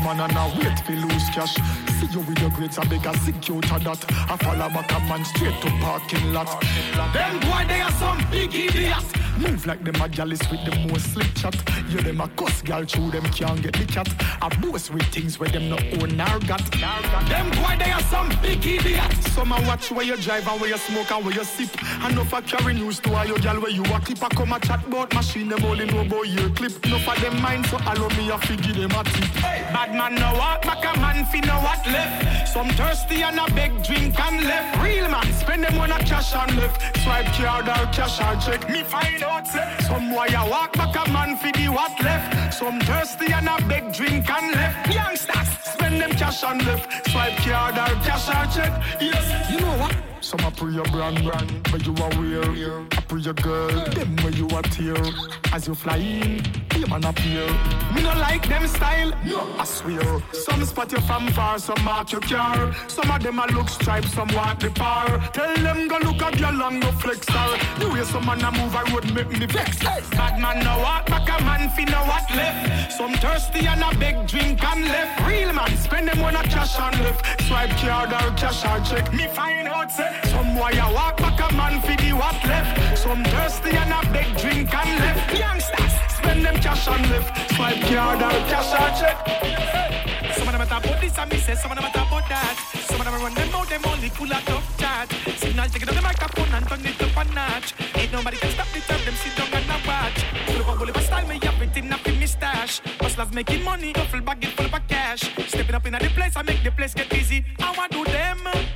man and I wait for lose cash. See you with your grades, I beg a secure to that. I follow back a man straight to parking lot. Them boy, they are some big idiots. Move like them a gallus with the most slick chat. You them a cuss gal through them can't get the cat. I boast with things where them no own or got. Them boy, they are some big idiots. Some a watch where you drive and where you smoke and where you sip. And no for carry news to all your gal where you a clip. I come a chat about machine, them only know about your clip. No for them mind, so allow me a figure them a tip. Bad man no walk back, a man fi no what left. Some thirsty and a beg drink and left. Real man spend them on a cash and left. Swipe card or cash or check. Me find out say. Some boy a walk back, a man fi the what left. Some thirsty and a beg drink and left. Youngsters spend them cash and left. Swipe card or cash or check. Yes, you know what? Some a pre your brand, where you are wear. I pre your girl, them where you are tear. As you fly in, you man appear. Me no like them style, no, I swear. Some spot you from far, some mark your car. Some of them a look stripe, some want the par. Tell them go look at your long no flex star. The way some man a move, I would make me vex. Bad man no walk back, a man fi no what left. Some thirsty and a beg drink and left. Real man spend them on a cash and left. Swipe card or cash or check. Me find out say. Some boy a walk back, a man fi the what left. Some thirsty and a beg drink and left. Youngsters spend them cash and left. Swipe card or cash or check. Some of them a talk about this and me say some of them a talk about that. Some of them run them out, them only full of tough chat. Signal take it up the microphone and turn it up a notch. Ain't nobody can stop the turn, them sit down and a watch. Full up a bullet style, me up it in a fi me stash. Hustlers making money, duffel bag it full of cash. Stepping up in the place, I make the place get busy. I want do them.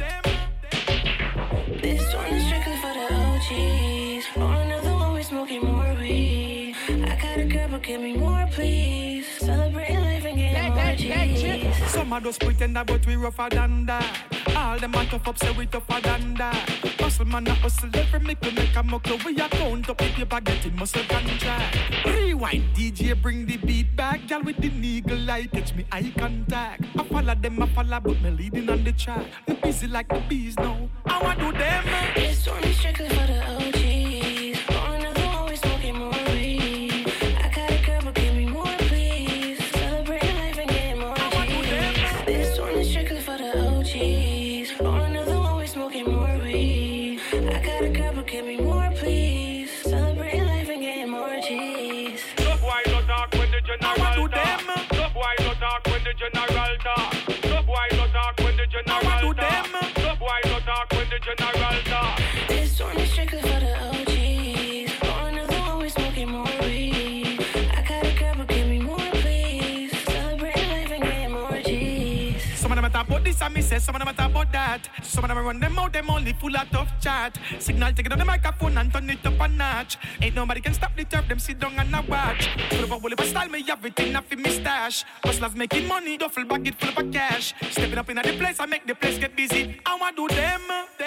This one is strictly for the OGs. On another one, we smoking more weed. I got a girl, but give me more, please. Celebrating life and getting more G's. Some of those pretender, but we rougher than that. All them man tough up, say we tougher than that. Hustle man, a hustle every make a muckle. We a count up if you baguette in muscle contract. Rewind, DJ bring the beat back. Girl with the eagle light, catch me eye contact. I follow them, but me leading on the track. Me busy like the bees now. I want do them. This one is strictly for the OGs. On another one, we smoking more weed. I got a girl, but give me more, please. Celebrating life and getting more G's. This one is strictly for the OGs. On another one, we smoking more weed. I got a girl, but give me more, please. Celebrating life and getting more G's. Look why no talk when the general talk. Look why no talk when the general talk. Look why no talk when the general talk. Look why no talk when the general talk. This one is strictly for the OGs. On another one, we smoking more weed. I got a girl, but give me more, please. Celebrating life and getting more G's. Some of them a talk about this and me say some of them a talk about that. Some of them run them out, them only full of tough chat. Signal take it on the microphone and turn it up a notch. Ain't nobody can stop the turf, them sit down and a watch. Full of a bullet style, me everything off in me stash. Hustlers making money, duffel bag it full of cash. Stepping up in the place, I make the place get busy. I want do them.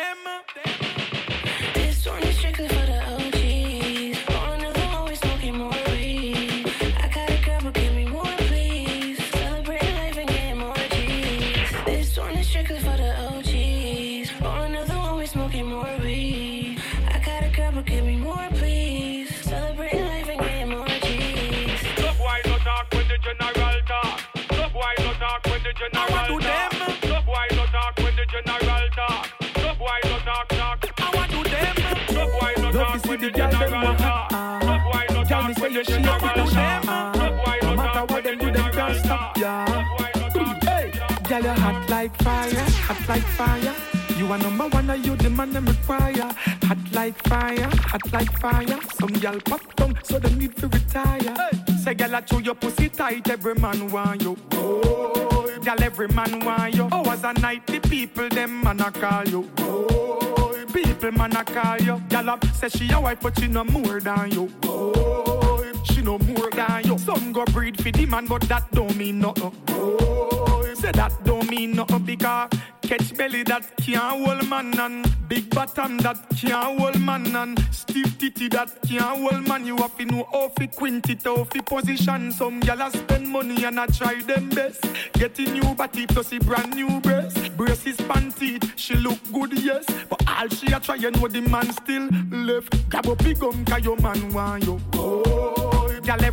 This one is strictly for the OGs. On another one, we smoking more weed. I got a girl, but give me more, please. Celebrating life and getting more G's. This one is strictly for the OGs. On another one, we smoking more weed. I got a girl, but give me more, please. Celebrating life and getting more G's. Look why no talk when the general talk. Look why no talk when the general talk. Look why no talk when the general talk. Look why no talk. I want do them. Look why no talk when the general talk. Look why no talk when the general talk. Look why no talk when the general talk. Hey, girl, you hot like fire. You are number one, and you the man them require. Hot like fire. Some girl pop down, so they need to retire. Say, girl, I chew your pussy tight, every man want you. Oh, girl, every man want you. Hours a night, the people them man a call you. Oh, people man a call you. Girl up say she a wife, but she no more than you. Oh, she no more than you. Some go breed for the man, but that don't mean nothing. Oh, say that don't mean nothing because catch belly that can't hold man and big bottom that can't hold man and stiff titty that can't hold man. You have to know how to quint it, how to position. Some gyal spend money and I try them best. Getting new body plus a brand new breast. Braces panty, she look good, yes, but all she a try, you know the man still left. Grab up big gum 'cause your man want you. Oh, gyal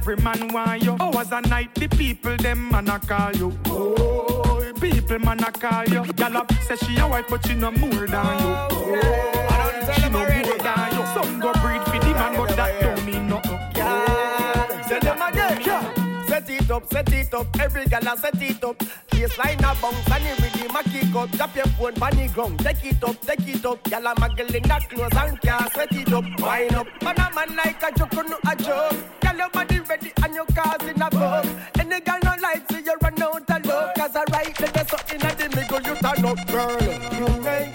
every man want you. Hours a night, the people them man a call you. Oh, people man a call you. Gyal up say she a wife, but she no more than you. Oh, she no more than you. Some go breed for the man, but that don't mean nothing. Say them again, set it up, every gal a set it up. Baseline a bounce and the rhythm a kick up. Drop your phone on the ground, take it up. Gal a muggle in that clothes and can't sweat it up. Wind up, man a man like a joke, no a joke. Gal your body ready and your cars in a boat. Any gal no like so you run out of luck. Cause I right there's something at the middle you turn up, girl. You make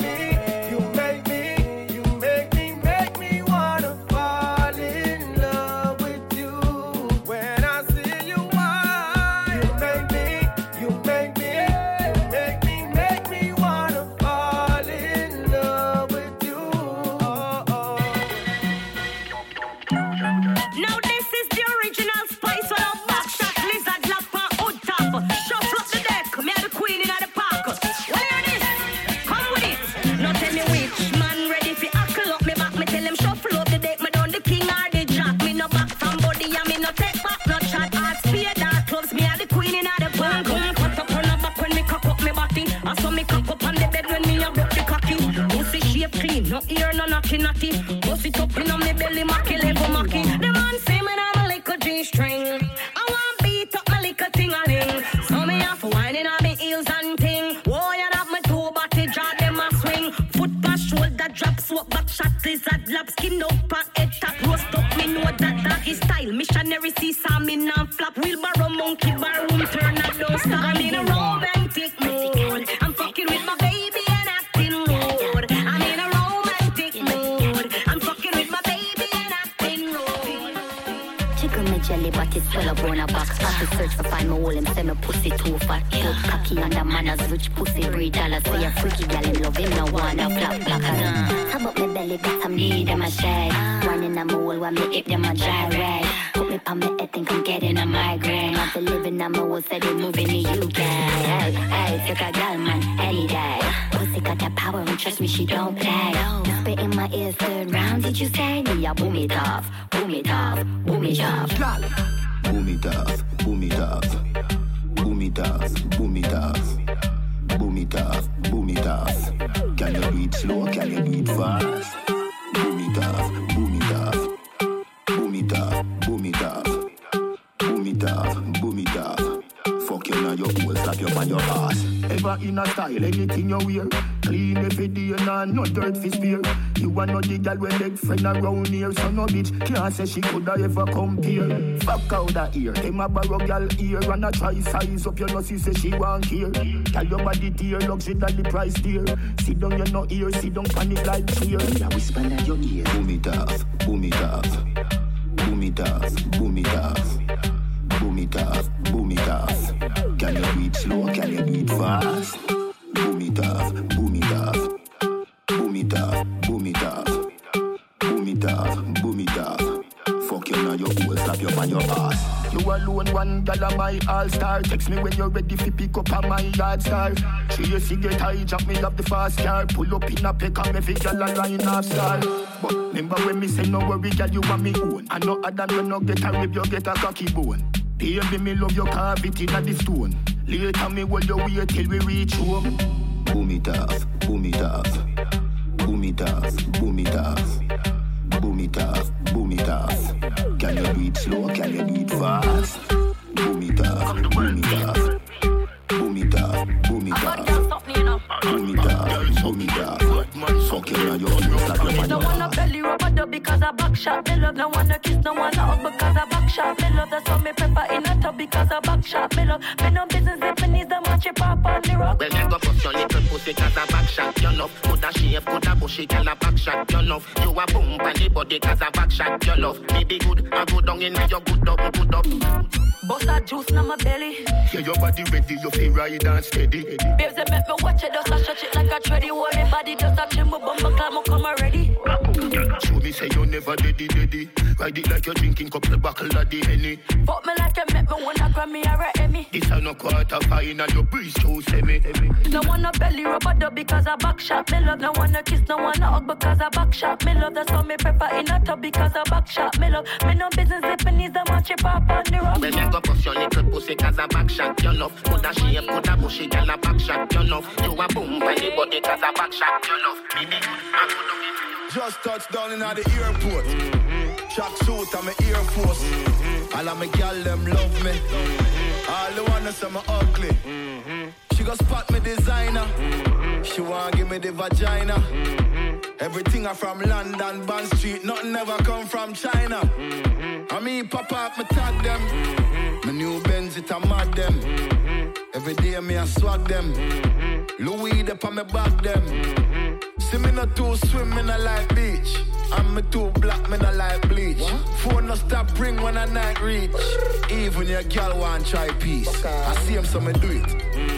me wanna fall in love with you. When I see you wine, you make me wanna fall in love with you. Now this is the original Spice with a backshot, lizard, lap, and hood top. Shuffle up the deck, me a the queen in the park. What are this? Come with it. Now tell me which man ready for hackle up me back. Me tell him shuffle up the deck, me done the king or the jack. Me no back from body and me no take back no chat. Hard spear dark clubs, me a the queen in the park. Cut up on the back when me cock up me body. I saw me cock up on the bed when me a broke the cocky. Pussy shape clean, no ear, no knocky natty. Bust it up in on me belly, macky level macky. The man say me I'm a little G-string. I want beat up my little ting-a-ling. So me have whining on me heels and ting. Whoa, you have my toe body, jaw them a swing. Foot pass, shoulder drop, swap back shot, lizard lap, skin up and head tap, roast up. Me know that is style. Missionary see some me non flap. Wheelbarrow monkey bar room turn and don't stop. I'm in a romantic mood. I'm fucking with my baby and acting rude. I'm in a romantic mood. I'm fucking with my baby and acting rude. Chicken me jelly, but it's full of bone box. I to search to find my hole and say my pussy too fat. Cute cocky under manners, rich pussy breed dollars. Say a freaky gal in love him, no wanna flap blacker. Top up my belly, but I'm need them a shade. Running a mole while me hip them a dry rag. Put me on me head, think I'm getting a migraine. After living on my wall, said they moving to UK. Hey, take a gal man, any day. Pussy got that power and trust me, she don't play. Spit in my ears, third round, did you say? Me, I boom it off, boom it off, boom it off. Boom it off, boom it off, boom it off, boom it off, boom it off, boom it off. Can you do it slow? Can you do it fast? Boom it off, boom it off, boom it off, boom it off, boom it off, boom it off. Fuck you now, your hole, slap you on your ass. Ever in a style, anything you wear. Clean every day, nah, no dirt for spear. You are not the girl with leg friend around here. So no bitch can't say she coulda ever compare. Fuck out that ear, them a borrow girl ear. And a try size up your nose, say she want here. Tell your body tear, luxury that the price dear. Sit down, you no ear, sit down, panic like fear. Yeah, whisper in your ear. Boom it off, boom it off, boom it off, boom it off. Boom it off, boom it off. Can you do it slow? Can you do it fast? Boom it off, boom it off. Boom it off, boom it off. Boom it off, boom it off. Fuck you now, your hole, slap you on your ass. You alone, one gal of my all-star. Text me when you're ready to pick up on my yard star. She a cigarette, hijack me up the fast car. Pull up in a peck and every gal a line off star. But remember when me say no worry, gal, you want me own. And no other than no get a rib, you get a cocky bone. Baby, me love your cavity in the stone. Later me hold your wait till we reach home. Boom it off, boom it off. Boom it off, boom it off. Boom it off, boom it off. Can you do it slow, can you do it fast? Boom it off, boom it off. Boom it off, boom it off. Boom it off, boom it off. Fucking on your face like your man. No wanna belly rub a dub because I back shot me love. No wanna kiss, no wanna hug because I back shot me love. That's why me pepper in a tub because I back shot me love. Me no business if me need the match it pop on the rock. Well, you go bust your little pussy cause I back shot your love. Coulda shave, coulda bushy, girl I back shot your love. You a boom on the body cause I back shot your love. Me be good, I go down in your good up, good up. Bust that juice in my belly. Yeah, your body ready, you feel ride and steady. Babes, they make me watch it, just a stretch it like a treadie. Hold me body, just a trim, my bumper climb, I come already. Show me say you never daddy. Ride it like you're drinking couple buckle of the Henny. Fuck me like you make me wanna grab me or a Emmy. This is no quarter final, you breeze too semi. No one a belly rubber dub because I back shot. Me love. No one a kiss, no one a hug because I back shot. Me love. That's how me prefer in a tub because I back shot. Me love. Me no business if it needs a match it pop on the rock. When me go push your little pussy cause I back shot. You love. Coulda shape, coulda bushy, girl a back shot. You love. You a boom by the body cause I back shot. You love. Me be good, I coulda. Just touched down in the airport. Track suit and my Air Force. All of my gal them love me. All the wanna say me ugly. She go spot me designer. She wanna give me the vagina. Everything I from London, Bond Street. Nothing ever come from China. I mean pop up, me tag them. My new Benz it a mad them. Every day me a swag them. Louis up on me back them. See me not too swim, me not like beach. And me too black, me not like bleach. What? Phone no stop ring when I night reach. Even your girl want try peace. Okay. I see him, so me do it.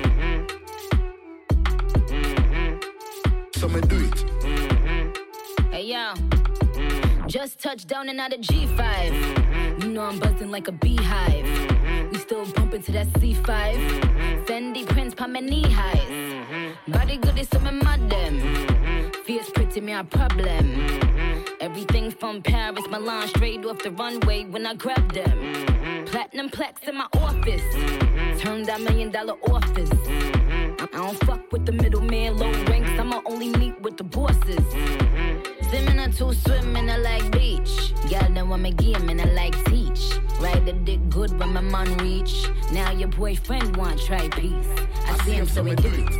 So me do it. Hey yo, just touched down and out of G5. You know I'm buzzing like a beehive. We still bumping to that C5. Fendi prints pa my knee highs. Body good is some mad them. Fierce pretty me a problem. Everything from Paris, Milan, straight off the runway when I grab them. Platinum plex in my office. Turn that $1 million office. I don't fuck with the middleman, low ranks. I'ma only meet with the bosses. Swimming to swim in a like beach. Y'all know I'm a game and I like teach. Ride the dick good when my man reach. Now your boyfriend want try peace. I see him so we do it.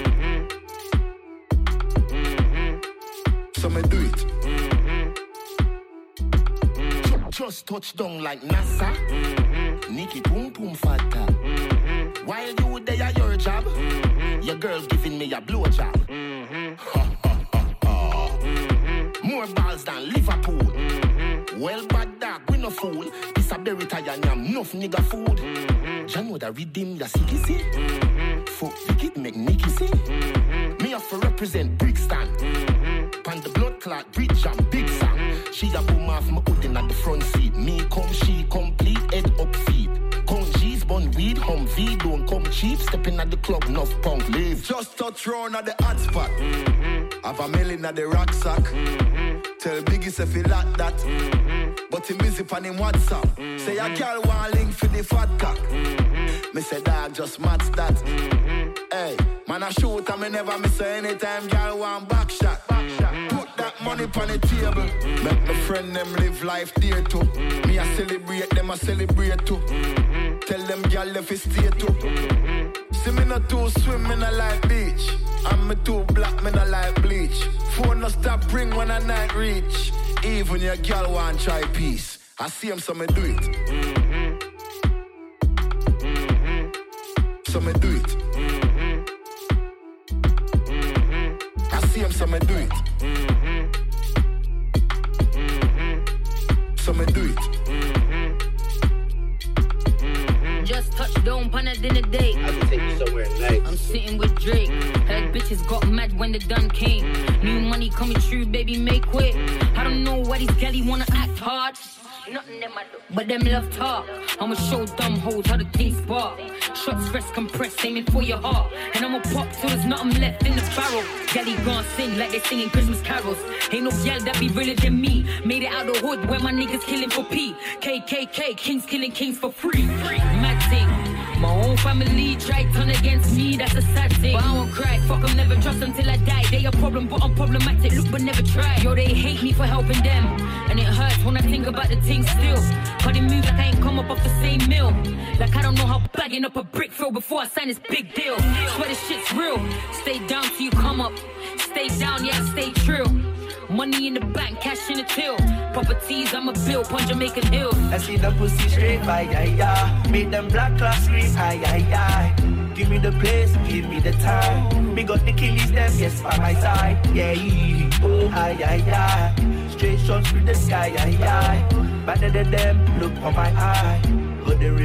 So me do it. Just touch down like NASA. Nikki Pum Pum Fata. While you there at your job, your girl giving me a blowjob. More balls than Liverpool. Well, bad dog, we no fool. This a berry tie and yam, enough nigga food. Jan would a redeem ya see. Fuck Vicky make Nicky see. Me have to represent Brixton. Pan the blood clot, bridge and big song. She a boom off my hoodin at the front seat. Me come, she complete, head up feet. Come G's, bun weed, Humvee, don't come cheap. Stepping at the club, enough punk, leave. Just touch round at the hot spot. Have a million at the rucksack. Tell Biggie if he like that. But he busy on him WhatsApp. Say a girl want link for the fat cock. Me say dog just match that. Hey, man I shoot and me never miss anytime girl want back shot. Put that money on the table. Make my friend them live life dear too. Me I celebrate them, I celebrate too. Tell them girl if it stay too. See me not too swim, me not like beach. And me too black, me not like bleach. Phone no stop ring when I night reach. Even your girl want try peace. I see him, so me do it. So me do it. I see him, so me do it. So me do it. Just touched down on a dinner date. I can take you somewhere nice. I'm sitting with Drake. Heard bitches got mad when the done came. New money coming true, baby, make quick. I don't know why these galley wanna act hard. Nothing them I do, but them love talk. I'ma show dumb hoes how the things spark. Shots fresh compressed, aiming for your heart. And I'ma pop till there's nothing left in the barrel. Galley gon' sing like they singing Christmas carols. Ain't no gal that be realer than me. Made it out the hood where my niggas killing for P. KKK, kings killing kings for free. Mad thing. My own family try turn against me, that's a sad thing. But I won't cry, fuck them, never trust them till I die. They a problem, but I'm problematic, look but never try. Yo, they hate me for helping them. And it hurts when I think about the things still. But it moves like I ain't come up off the same mill. Like I don't know how bagging up a brick feel before I sign this big deal. Swear this shit's real. Stay down till you come up. Stay down, yeah, stay true. Money in the bank, cash in the till. Properties, I'm a bill, on Jamaican Hill. I see the pussy straight, yeah. Make them black clocks scream, aye. Give me the place, give me the time. Me got the killies, them, yes, by my side. Yeah, oh, aye. Straight shots through the sky, aye. Better than them, look on my eye. Got the real killie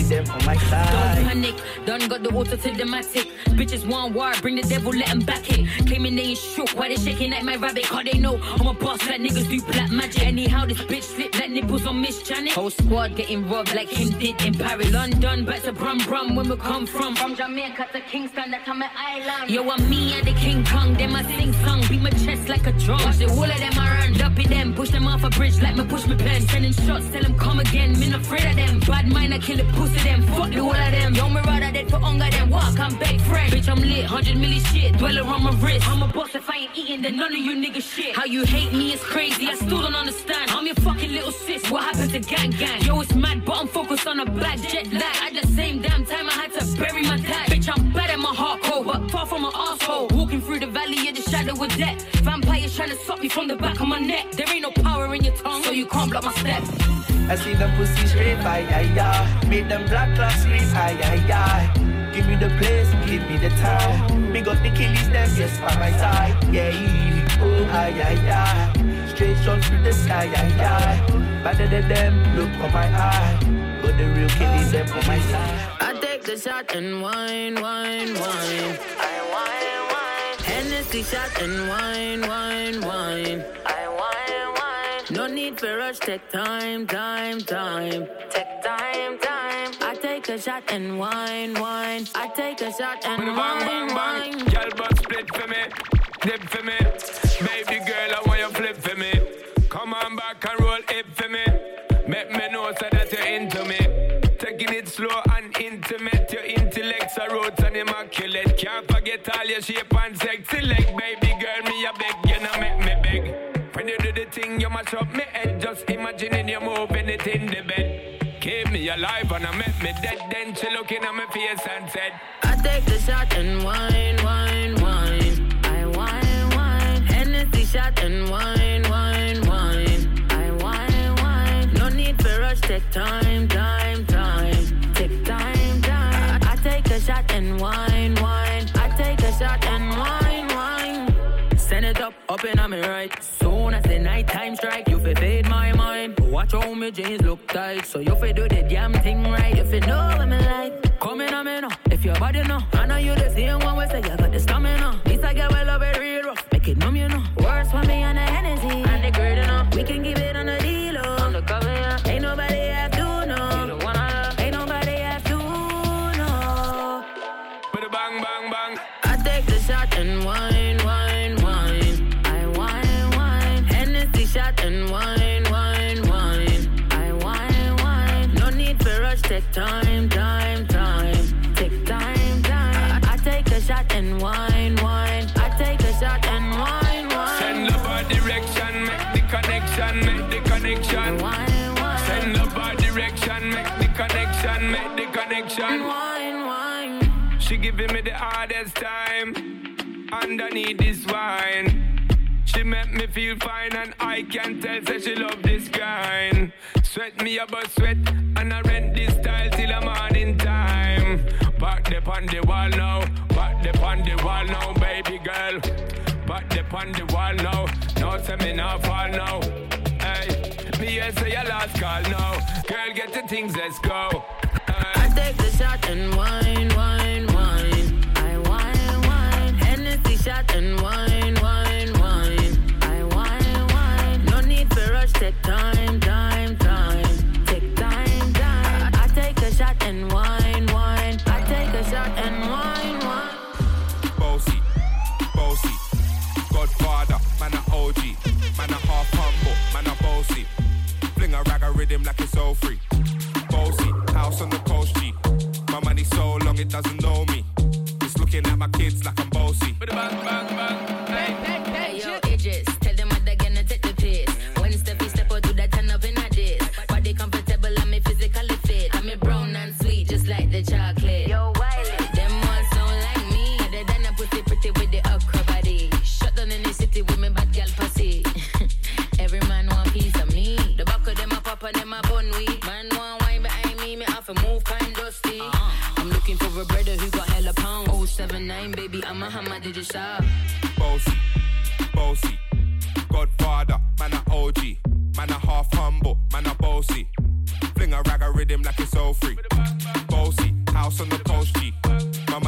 them on my side. Don't panic, done got the water to the matic. Bitches want war, bring the devil, let them back it. Claiming they ain't shook, why they shaking like my rabbit? Cause they know I'm a boss like niggas do black magic. Anyhow, this bitch slip like nipples on Miss Janet. Whole squad getting robbed like him did in Paris. London, back to Brum Brum, when we come from. From Jamaica to Kingston, that's on my island. Yo, I'm me and the King Kong, them I sing song. Beat my chest like a drum. Watch the whole of them I run, dumpy them. Push them off a bridge like me push my pen. Sending shots, tell them come again. Me not afraid of them. Bad mind, I kill the pussy them. Fuck the whole of them. Yo, me rather dead for hunger than walk, I'm big friend. Bitch, I'm lit, 100 milli shit, dweller on my wrist. I'm a boss if I ain't eating, then none of you niggas shit. How you hate me is crazy, I still don't understand. I'm your fucking little sis, what happened to gang gang? Yo, it's mad, but I'm focused on a black jet lag. At the same damn time, I had to bury my dad. Bitch, I'm bad at my heart cold, but far from my asshole. Walking through the valley of the shadow of death. Vampires trying to suck me from the back of my neck. There ain't no power in your tongue, so you can't block my step. I see them pussy straight, aye, aye, aye. Make them black clocks scream, aye, aye, aye. Give me the place, give me the time. Me got the killies, them, yes, by my side. Yeah, oh, aye, aye, aye. Straight shots through the sky, aye, aye. Better than them, look on my eye. Got the real killies, them on my side. I take the shot and wine, wine, wine. I wine, wine. Hennessy shot and wine, wine, wine. I wine, wine. No need for rush, take time, time, time. Take time, time. I take a shot and wine, wine. I take a shot and wine, wine. Girl, but split for me, dip for me. Baby girl, I want you flip for me. Come on back and roll it for me. Make me know so that you're into me. Taking it slow and intimate. Your intellect's a roots and immaculate. Can't forget all your shape and sexy leg. Baby girl, me a beg, you know make me beg. When you do the thing, you mash up me head. Just imagining you moving it in the bed. Keep me alive and I make me dead. Then she looking at my face and said, I take the shot and wine, wine, wine. I wine, wine. Hennessy shot and wine, wine, wine. I wine, wine. No need for rush, take time, time, time. Take time, time. I take a shot and wine, wine. I take a shot and wine, wine. Send it up in on me right. Soon as the night time strike, you fi fade my mind. Watch how my jeans look tight, so you fi do the damn thing right. If you know what me like, come in on me now. If your body know, I know you the same one. We say you got the stamina. This I get well up it real rough, make it numb, you know. Words for me on the Hennessy and the girl, you know. We can keep it on the deal, on the cover, yeah. Ain't nobody have to know. You the one I love. Ain't nobody have to know. With a bang, bang, bang. I take the shot and wine, wine, wine. I wine, wine. Hennessy shot and wine, wine, wine. I wine, wine. No need for rush, take time, time, time. Take time, time. I take a shot and wine, wine. I take a shot and wine, wine. Send love our direction, make the connection, make the connection. Wine, wine. Send love our direction, make the connection, make the connection. Wine, wine. She giving me the hardest time underneath this wine. She make me feel fine and I can tell say she love this kind. Sweat me about sweat and I rent this style till the morning time. Back the on the wall now, back the on the wall now, baby girl. Back the on the wall now, no say me not fall now. Hey, me here say your last call now. Girl, get the things, let's go. I take the shot and wine, wine, wine. I wine, wine. Hennessy shot and wine, wine, wine. I wine, wine. No need for rush, take time, time, time. Take time, time. I take a shot and wine, wine. I take a shot and wine, wine. Bossy, bossy. Godfather, man a OG. Man a half humble, man a bossy. Fling a rag a rhythm like it's all free. Bossy, house on the coast G. My money so long it doesn't know me. It's looking at my kids like I'm bossy. Bang, bang, bang. Hey, yo, Idris, tell them what they're gonna take the piss. When Steffi step out, do that turn up in a diss. Body comfortable, I'm physically fit. I'm brown and sweet, just like the chocolate. Yo, Wiley. Them all sound like me. Other than a pussy pretty with the okra body. Shut down in the city with me bad girl pussy. Every man want piece of me. The back of them a pop and them a bun weed. Man want wine behind me have to move kind dusty. I'm looking for a brother who got hella pound. 079, baby, I'm a hammer, did you shop? Bossy, bossy. Godfather, man a OG. Man a half humble, man a bossy. Fling a rag a rhythm like it's all free.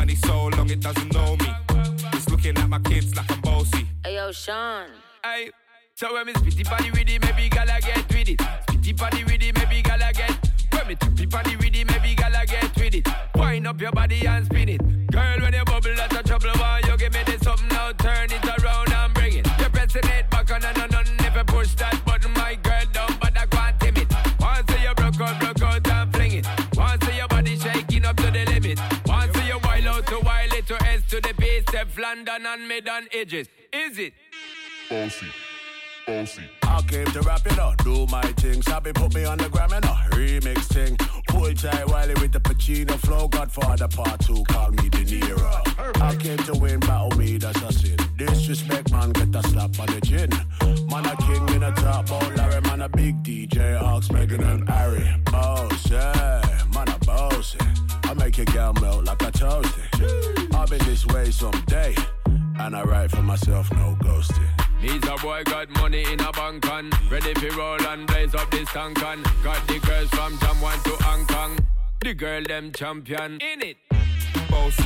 money so long it doesn't know me. It's looking at my kids like I'm bossy. Hey yo, Sean. Hey, so when me spitty body with it, maybe gala get with it. Spitty body with it, maybe gala get. When me trippy body with it, maybe gala get with it. Wind up your body and spin it. Girl, when you bubble, that's a trouble. Why you give me this something now? Turn it around and bring it. You're pressing it back on and on. If you push that button, my girl, down, but I can't tame it. Once you broke out and fling it. Once your body shaking up to the limit. Once you wild out to wild it to S to the base, step London and mid on edges. Is it? Bossy. I came to rap it up, do my thing. Sabi put me on the gram and a remix thing. Pull tight Wiley with the Pacino flow. Godfather part 2, call me De Niro. I came to win, battle me, that's a sin. Disrespect, man, get a slap on the chin. Man a king in a top, oh Larry, man a big DJ, Ox, Megan and Harry. Boss, yeah, man a bossy. I make your girl melt like a toasty. I'll be this way someday, and I write for myself, no ghosting. Needs a boy got money in a bank on. Ready for roll and blaze up this tank on. Got the girls from Jamwan to Hong Kong. The girl them champion. In it. Bossy.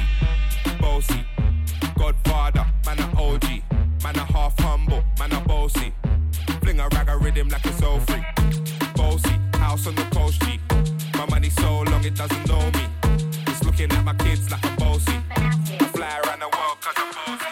Godfather, man a OG. Man a half humble, man a bossy. Fling a rag a rhythm like it's so free. Bossy, house on the coast G. My money so long it doesn't know me. It's looking at my kids like I'm bossy. I fly around the world cause I'm bossy.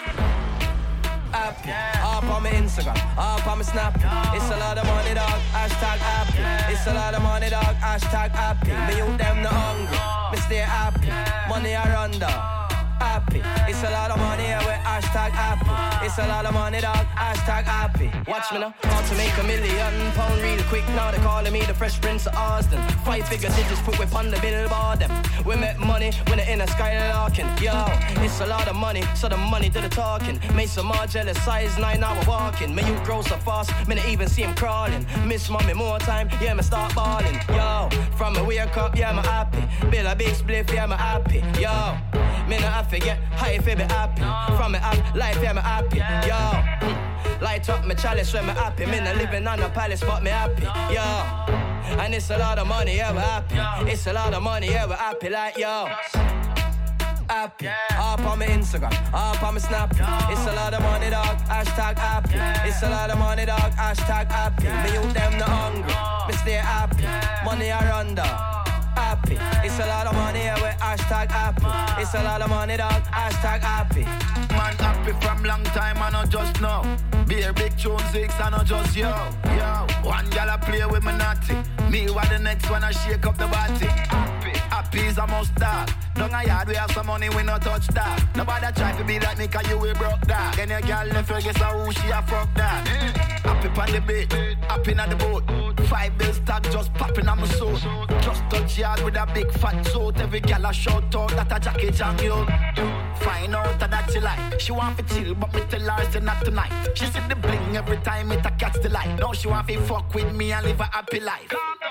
Up on my Instagram, up on my Snap. It's a lot of money, dog. Hashtag happy. It's a lot of money, dog. Hashtag happy. Me you them the hungry. Me stay happy. Money I run down. Happy. It's a lot of money here with hashtag happy. It's a lot of money, dog. Hashtag happy. Watch me now. How to make £1 million real quick. Now they calling me the Fresh Prince of Austin. 5 figure digits put whip on the billboard them. We make money when they're in a skylarking. Yo, it's a lot of money, so the money do the talking. Make some more jealous size 9 hour walking. Me you grow so fast, me not even see him crawling. Miss mommy more time, yeah me start balling. Yo, from me wake up, yeah me happy. Bill a big spliff, yeah me happy. Yo, me not have to get high if I be happy. From me up life, yeah me happy. Yo, light up my chalice when me happy. Me not living on a palace, but me happy. Yo, and it's a lot of money, yeah we happy. It's a lot of money, yeah we happy like yo. Happy, up on my Instagram, up on my Snap. It's a lot of money, dog. Hashtag happy. It's a lot of money, dog. Hashtag happy. Me you them the hungry. Me stay happy. Money I run down. Happy. It's a lot of money here with hashtag happy. It's a lot of money, dog. Hashtag happy. Man happy from long time, I not just know. Be a big tune 6, I not just yo. One gal I play with me naughty. Me what the next one I shake up the body. Happy is a must dog. Down a yard we have some money, we no touch that. Nobody try to be like me cause you will broke that. Then your gal left her guess who she a fuck that. Happy on the beat, happy on the boat. 5 bills tag just popping on my soul. Just touch yard with a big fat suit. Every gal a shout out that a jacket and you. Find out that she like. She want to chill but me tell her say not tonight. She see the bling every time it a catch the light. Now she want to fuck with me and live a happy life.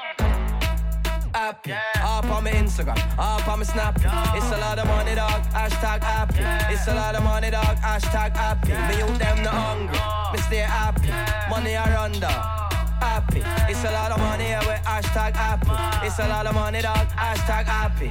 Happy, up on my Instagram, up on my Snap. It's a lot of money, dog. Hashtag happy. It's a lot of money, dog. Hashtag happy. Me you them the hungry. Me stay happy. Money I run down. Happy. It's a lot of money here with hashtag happy. It's a lot of money, dog. Hashtag happy.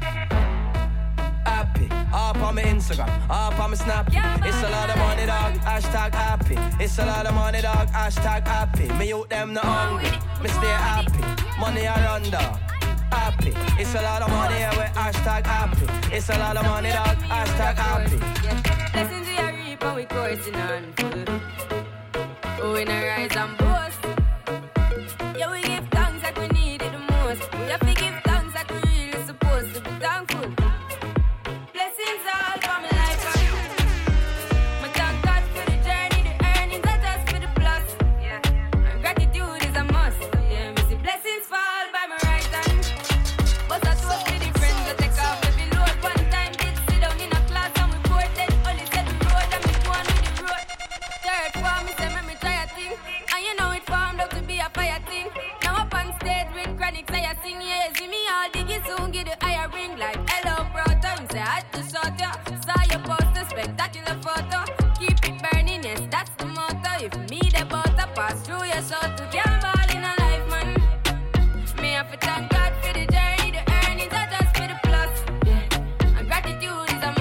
Happy. Up on my Instagram, up on my Snap. It's a lot of money, dog. Hashtag happy. It's a lot of money, dog. Hashtag happy. Me you them the hungry. Me stay happy. Money I run down. Happy. It's a lot of money here with hashtag happy. It's a lot of money, dog. Hashtag happy. Listen to your reap and we coursing on full. Oh, in a rise and boast. Yeah, we give thanks like we need it the most. We have to give thanks like we really supposed to be thankful. Blessings all for my life. I thank God for the journey, the earnings are just for the plus. Yeah, and gratitude is a must. Yeah, we see blessings fall by my right hand. But I told me the friends that take off every load. One time did sit down in a class and we bored then only said the road and we go on with the road. Third form, me say me try a thing. And you know it formed up to be a fire thing. Now up on stage with chronics I sing. Yeah, see me all diggy soon get the higher ring. Like hello brother, me say I had to shot ya. Saw your poster, spectacular photo. Keep it burning, yes that's the motto. If me the butter pass through your soul to can't ball in a life man. Me have to thank God for the journey, the earnings are just for the plus. Yeah, and gratitude is a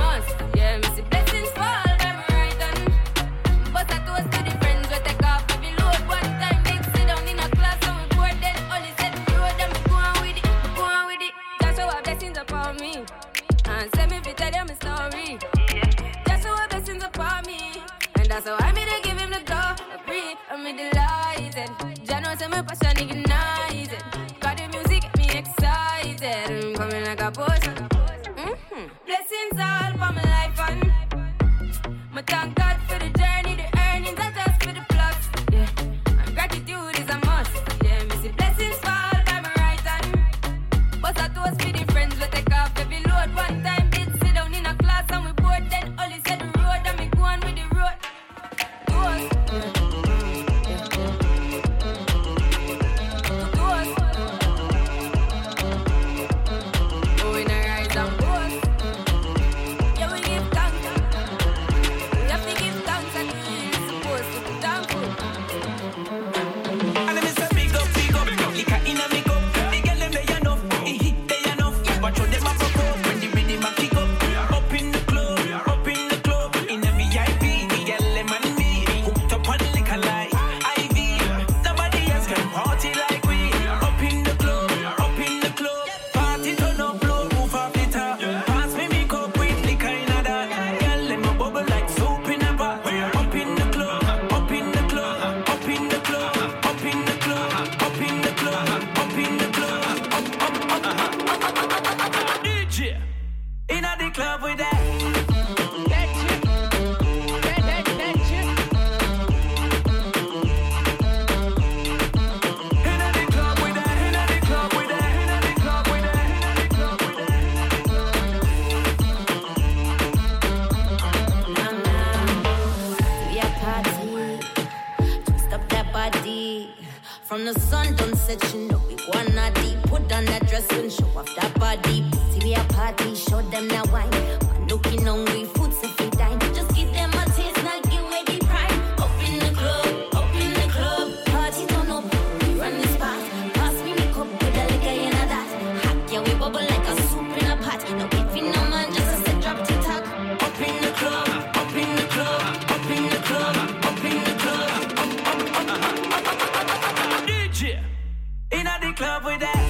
blessings upon me. And send me to tell them a story. That's how blessings upon me. And that's how I made to give him the glory. I'm delighted. Jano say my passion ignited. Got the music get me excited. I'm coming like a potion. Blessings all for my life and my thank God for the journey, the earnings are just for the plus. Yeah, and gratitude is a must. Yeah, me see blessings fall by my right hand. But I toast for the friends we take off every load. One time did sit down in a class and we bored. Then Ollie said the road and me go on with the road. From the sun don't set, you know we wanna deep. Put on that dress and show off that body. See we a party, show them that wine. Man looking hungry, food so fi dine. Just give them a taste, not give away the prime. Up in the club, party turn up. We run the spot, pass me the cup with a liquor in a that. Hack yeah we bubble like a soup in a pot. No giving no man just a set drop to talk. Up in the club, up in the club, up in the club, up in the club. Inna the club with that.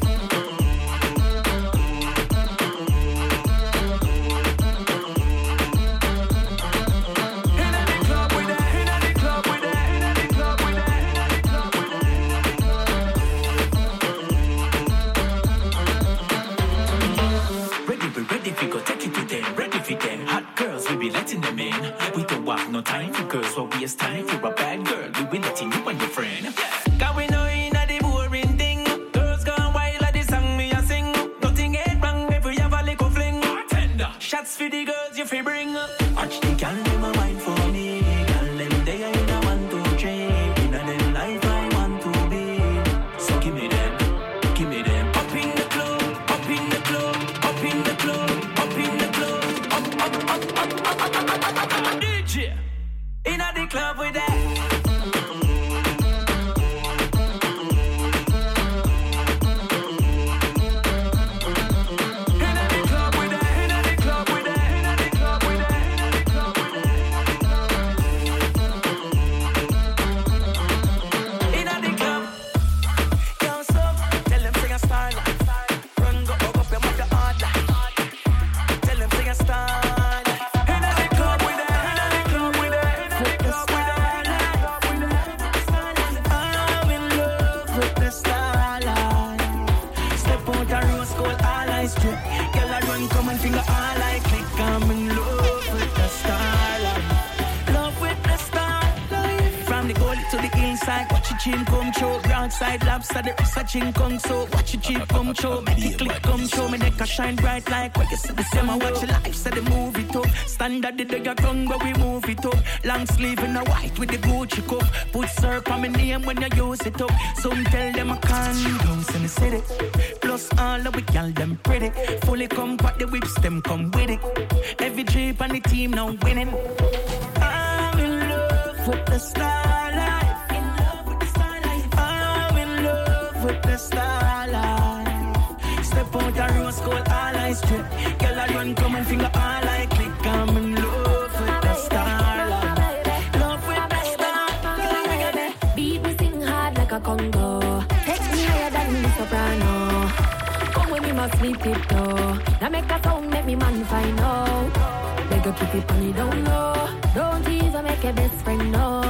Ready, we go take it to them. Ready for them. Hot girls, we be letting them in. We don't have no time for girls, so we waste time. If you're a bad girl, we be letting you and your friend. Cause we know inna the boring thing. Girls gone wild at the song me a sing. Nothing ain't wrong if we have a little fling. Tender. Shots for the girls you fi bring. Watch the gal them a wine for me. Gal them they in a 1, 2, 3. Inna them life I want to be. So give me them. Up in the club, up in the club, up in the club, up in the club, up. DJ inna the club with that. Watch your chin come show, broadside lobster, the wrist a chin come so. Watch your chin come show, make it click come show. Me neck a shine bright like what you see the same. I watch your life, say the movie top. Standard the day your tongue, but we move it up. Long sleeve in a white with the Gucci cup. Put syrup on my name when you use it up. Some tell them I can't bounce in the city. Plus all of we girl them pretty. Fully compact the whips, them come with it. Every trip on the team now winning. I'm in love with the starlight. With the starlight, step out the rose gold, all eyes straight. Girl, I run, come and finger all I click. I'm in love with the starlight. Love with the starlight. Beat me sing hard like a Congo. Take me higher than the soprano. Come with me, must sleep it though. Now make a sound, make me man find out. Make her keep it on the down low. Don't even make a best friend know.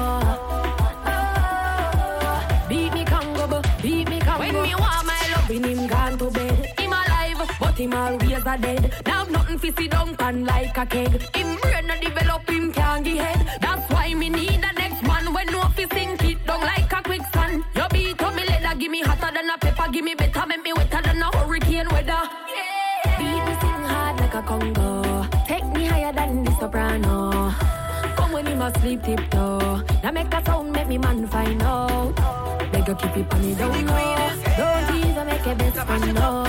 Beat me Congo, beat me Congo. When me want my love in him gone to bed. Him alive, but him always a dead. Now nothing fi sit down pan like a keg. Him brain no develop, him can't get head. That's why me need the next man. When no fi sink it down like a quicksand. You beat up me leather, give me hotter than a pepper. Give me better, make me wetter than a hurricane weather. Yeah. Beat me sing hard like a Congo. Take me higher than the soprano. Come when him asleep tiptoe. Now make a sound, make me man find out. Make her keep it on the down low. Don't even make a best friend know.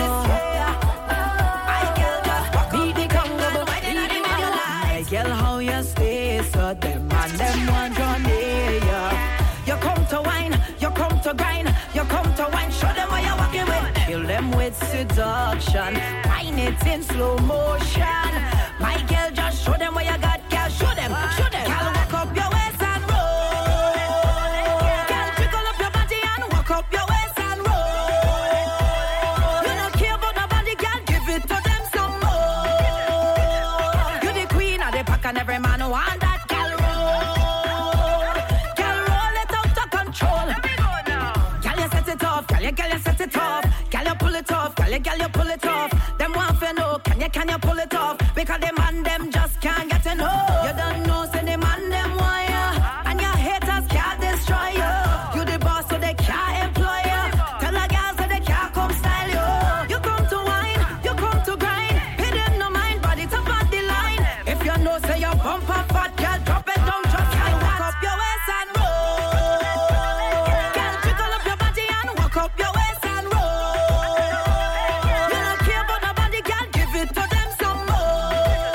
Beat the Congo, beat the Congo. My girl, how you stay so them and them want to near ya. You come to wine, you come to grind, you come to wine. Show them what you're walking with. Kill them with seduction. Wine it in slow motion. My girl, just show them what you got, girl. Show them, show them. Girl, walk up your waist and roll. Girl, jiggle up your body and walk up your waist and roll. You don't care about nobody, girl. Give it to them some more. You the queen of the pack and every man want that girl roll. Girl, roll it out of control. Let me go now. Girl, you set it off. Girl, you set it off. Girl, you pull it off. Girl, you pull it off. Them want to know, can you pull it off? Because them man them just can't get to know. You don't know, say the man them want ya. And your haters can't destroy you. You the boss so they can't employ you. Tell the girls so they can't come style you. You come to wine, you come to grind. Pay them no mind, body top of the line. If you know, say you bump up fat, girl, drop it down, just like walk up your waist and roll. Girl, jiggle up your body and walk up your waist and roll. You don't care about nobody, girl, give it to them some more.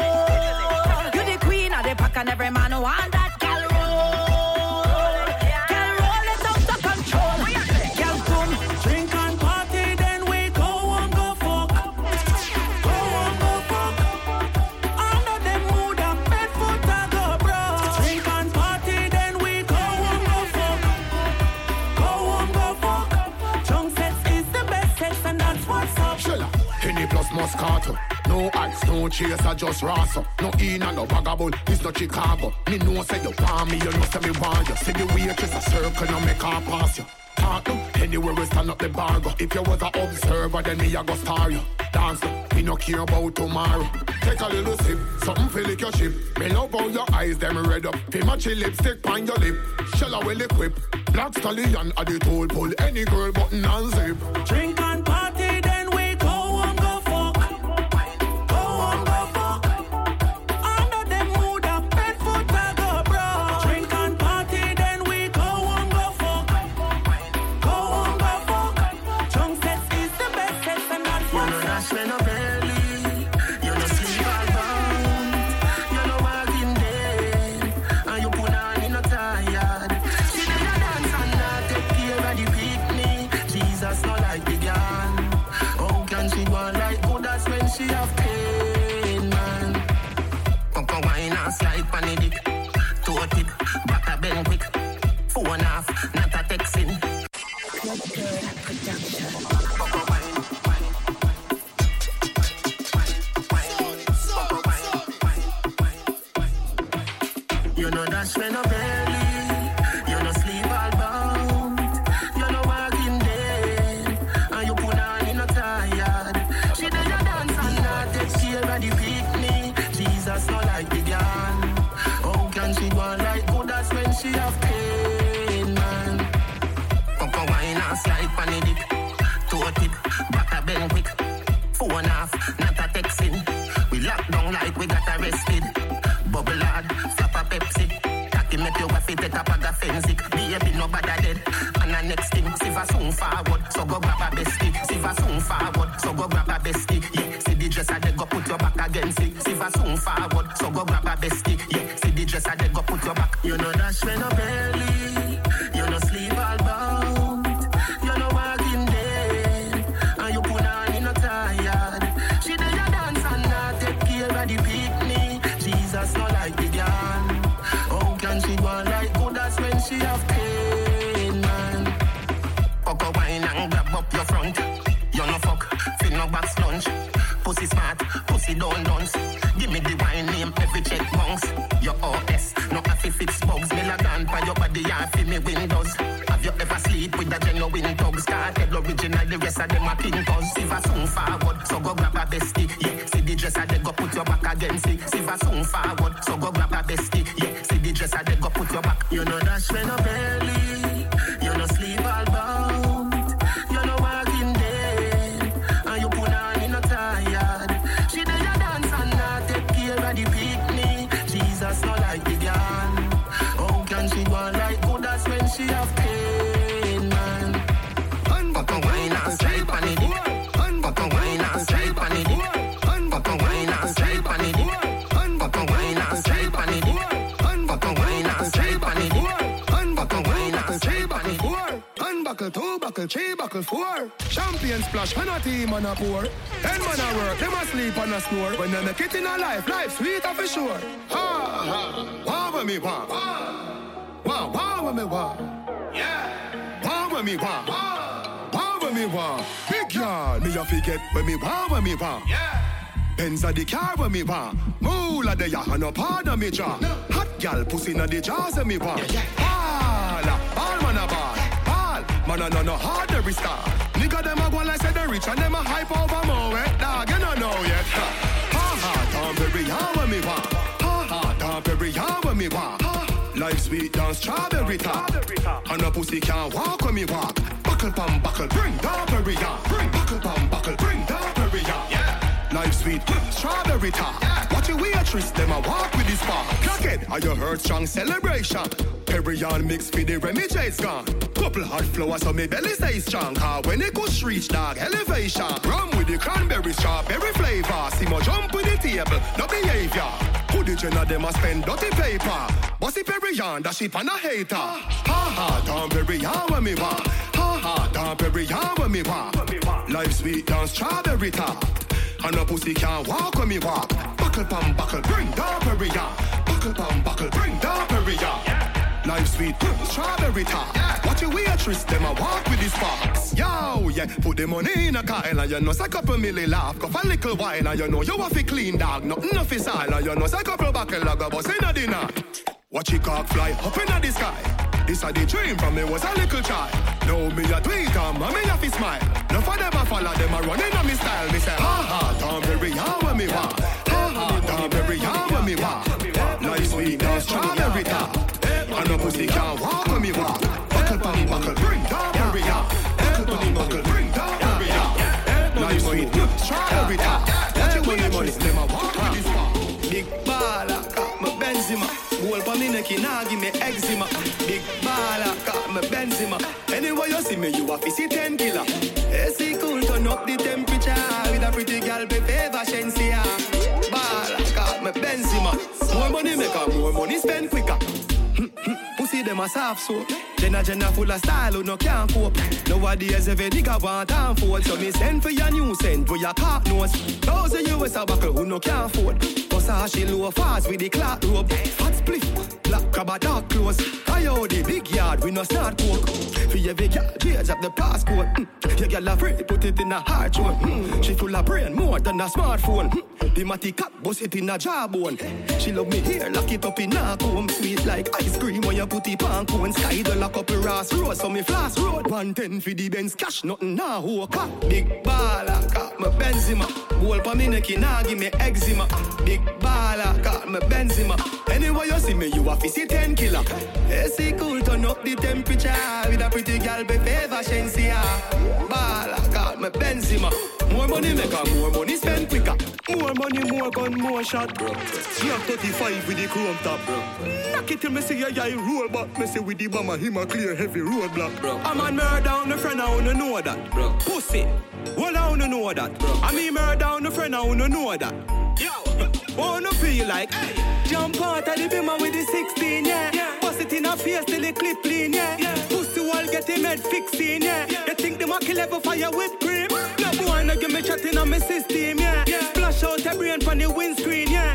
You the queen of the pack and every man want that girl roll. Girl, roll it out to control. Girl, boom. Drink and party, then we go and go fuck. Go and go fuck. Under them mood of bed foot I go broke. Drink and party, then we go and go fuck. Go and go fuck. Drunk sex is the best sex and that's what's up. Shella, Henny plus Moscato. No ice, no chaser, just rasa. No in and no vagabond, it's not Chicago. Me know say you want me, you know say me want you. See the waitress a circle, no make her pass you. Talk no, anywhere we stand up the bar go. If you was a observer, then me a go star you. Dance no, me no care about tomorrow. Take a little sip, something feel like your ship. Me love how your eyes, them red up. Feel match your lipstick on your lip. Shella well equipped. Black stallion at the toll pull. Any girl button and zip. Drink and party, then we go and go fuck. Go and go fuck. Under them mood of bed foot I go broke. Drink and party, then we go and go fuck. Go and go fuck. Drunk sex is the best sex and that's You what's know up. that's when I'm early. You know sleep all bound. You know walking dead. And you put on in a tired. She did a dance and not take care of the picnic. Jesus not like the girl. How can she go like good? That's when she have pain, man. Come wine and slide pan the dick. Toe tip, back a bend quick. Phone off, not a texting. You know that's when I'm early. You know sleep all bound. You know walking dead. And you put on in a tired. She did a dance and not take care of the picnic. Jesus not like the girl. How can she go like good? That's when she have pain, man. Come wine and slide pan the dick. Toe tip, back a bend quick. Phone off, not a texting. We lock down like we got arrested. Bubble hard, flap a Pepsi. Cocky make your wife take a bag of fensic. Baby nobody dead. And the next thing, Siva soon forward, so go grab a bestie. Siva soon forward, so go grab a bestie. Yeah, see the dresser they go put your back against it. Siva soon forward, so go grab a bestie. Yeah, see the dresser they go put your back. You know that's when I'm early. You know sleep all bound. You know walking dead. And you put on in a tired. She did a dance and not take care of the picnic. Jesus not like the girl. How can she go like good? That's when she have pain, man. Coco wine and grab up your front. You no fuck, feel no back lunch. Pussy smart. smart. Pussy don't dance. Give me the wine name, every check bounce. Your OS, no happy fix bugs. Me la gun by your body, I feel me windows. Have you ever sleep with a genuine thug? Started original, the rest of them are pinkers. If I soon forward, so go grab a bestie. Yeah, see the dresser, they go put your back against it. If I soon forward, so go grab a bestie. Yeah, see the dresser, they go put your back. You know dash when no belly, you know sleep all bout. You know walking dead, and you put on in no tired. She did a dance and not take care of the picnic. Jesus not like the girl. How can she go like good? That's when she have pain, man. Fuck a wine and straight on it. Fuck a wine and straight on it. Fuck a wine and straight on it. Fuck a wine and straight on it. Fuck a wine and straight on it. Fuck a wine and straight on it. Unbuckle, two buckle, three buckle, four. Champion splash, when a team and a pour. 10 man a work, them a sleep and a snore. When they make it in a life, life sweeter for sure. Ha ha, wah with me wah. Wah wah with me wah. Yeah. Wah with me wah. Wah with me wah. Big yard, me a forget when me wah with me wah. Yeah. Benz a the car with me wah. Moolah the yah and no part of me jaw. Hot gal pussy na the jaws of me wah. Ball man a ball. Man, I no hard star. Nigga, them a go like say they rich and them a hype over more wet dog. You don't know yet. Ha ha, don't bury ya when me want. Ha ha, don't bury ya when me want. Life sweet down strawberry top. And a pussy can't walk when me walk. Buckle pam buckle, bring down bury ya. Bring buckle pam buckle, bring down bury ya. Life sweet, strawberry top. Watch your waitress, them a walk with this bar. Clock it, are you heard strong celebration? Perrion mix for the Remy J's gone. Couple hot flowers so me belly stay strong. Cause when it goes reach dog elevation. Rum with the cranberry strawberry flavor. See more jump with the table, no behavior. Who the gen of them a spend dirty paper? Bossy Perrion, that ship and a hater. Ha ha, don't Perrion when me want. Ha ha, don't Perrion when me want. Life sweet down strawberry top. And a pussy can't walk when me walk. Buckle pam buckle, bring down Perrion. Buckle pam buckle, bring down Perrion. Life sweet, strawberry top. Watch your waitress, them a walk with these sparks. Yo, yeah, put the money in a Kyle and you know say couple milli laugh. Go for a little while and you know you have to clean dog. Nothing off his style and you know say couple buckle log a bus in a dinner. Watch your cock fly up in the sky. This a the dream from me was a little child. Now me a tweet and me have to smile. No for them a follow them a running on me style. Me say ha ha, don't bury ya when me want. Ha ha, don't bury ya when me want. Life sweet down strawberry top. And no pussy can't walk when me walk. Buckle pam buckle, bring down Perrion. Buckle pam buckle, bring down Perrion. Life sweet, strawberry top. Watch your waitress, them a walk with this bar. Big baller, got my Benzema. Goal pa me neck, nah give me eczema. Big baller, got my Benzema. Anyway you see me, you a see 10 killer. AC cool, turn up the temperature. With a pretty girl, be favor Shensia. Baller, got my Benzema. More money make her, more money spend quicker. Pussy them a soft soap. Jenna full of style who no can't cope. Nowadays every nigga want and fold. So me send for your new scent for your cock nose. $1,000 US a buckle who no can't afford. Versace low fast with the clock rope. Hot split, black crab a dark clothes. I owe the big yard we no start coke. For every girl page up the passport. Your girl afraid put it in a hard throat. She full of brain more than a smartphone. The matty cap bust it in a jawbone. She love me here, lock it up in a comb. Sweet like ice cream when you put it on cone. Sky the lock up a Ross Road, so me flash road. 110 for the Benz cash, nothing now who car. Big baller, got my Benzema. Goal pa me neck, nah give me eczema. Big baller, got my Benzema. Anyway you see me, you a see 10 killer. AC cool, turn up the temperature. With a pretty girl, be favor Shensia. Baller, got my Benzema. More money make her, more money spend quicker. More money, more gun, more shot, bro. She have 35 with the chrome top, bro. Knock it till me see a guy roll back. Me say with the bomber, him a clear heavy roadblock, bro. I'm on murder down the friend, I wanna know that, bro. Pussy, well I wanna know that, bro. I mean murder down the friend, I wanna know that. Yo, wanna feel like, hey. Jump out of the bimmer with the 16, yeah. Bust it in her face till the clip clean, yeah. Pussy wall get him head fixing, yeah. You think them a kill ever fire whipped cream? No boy no give me chatting on my system, yeah. Splash out a brain from the windscreen, yeah.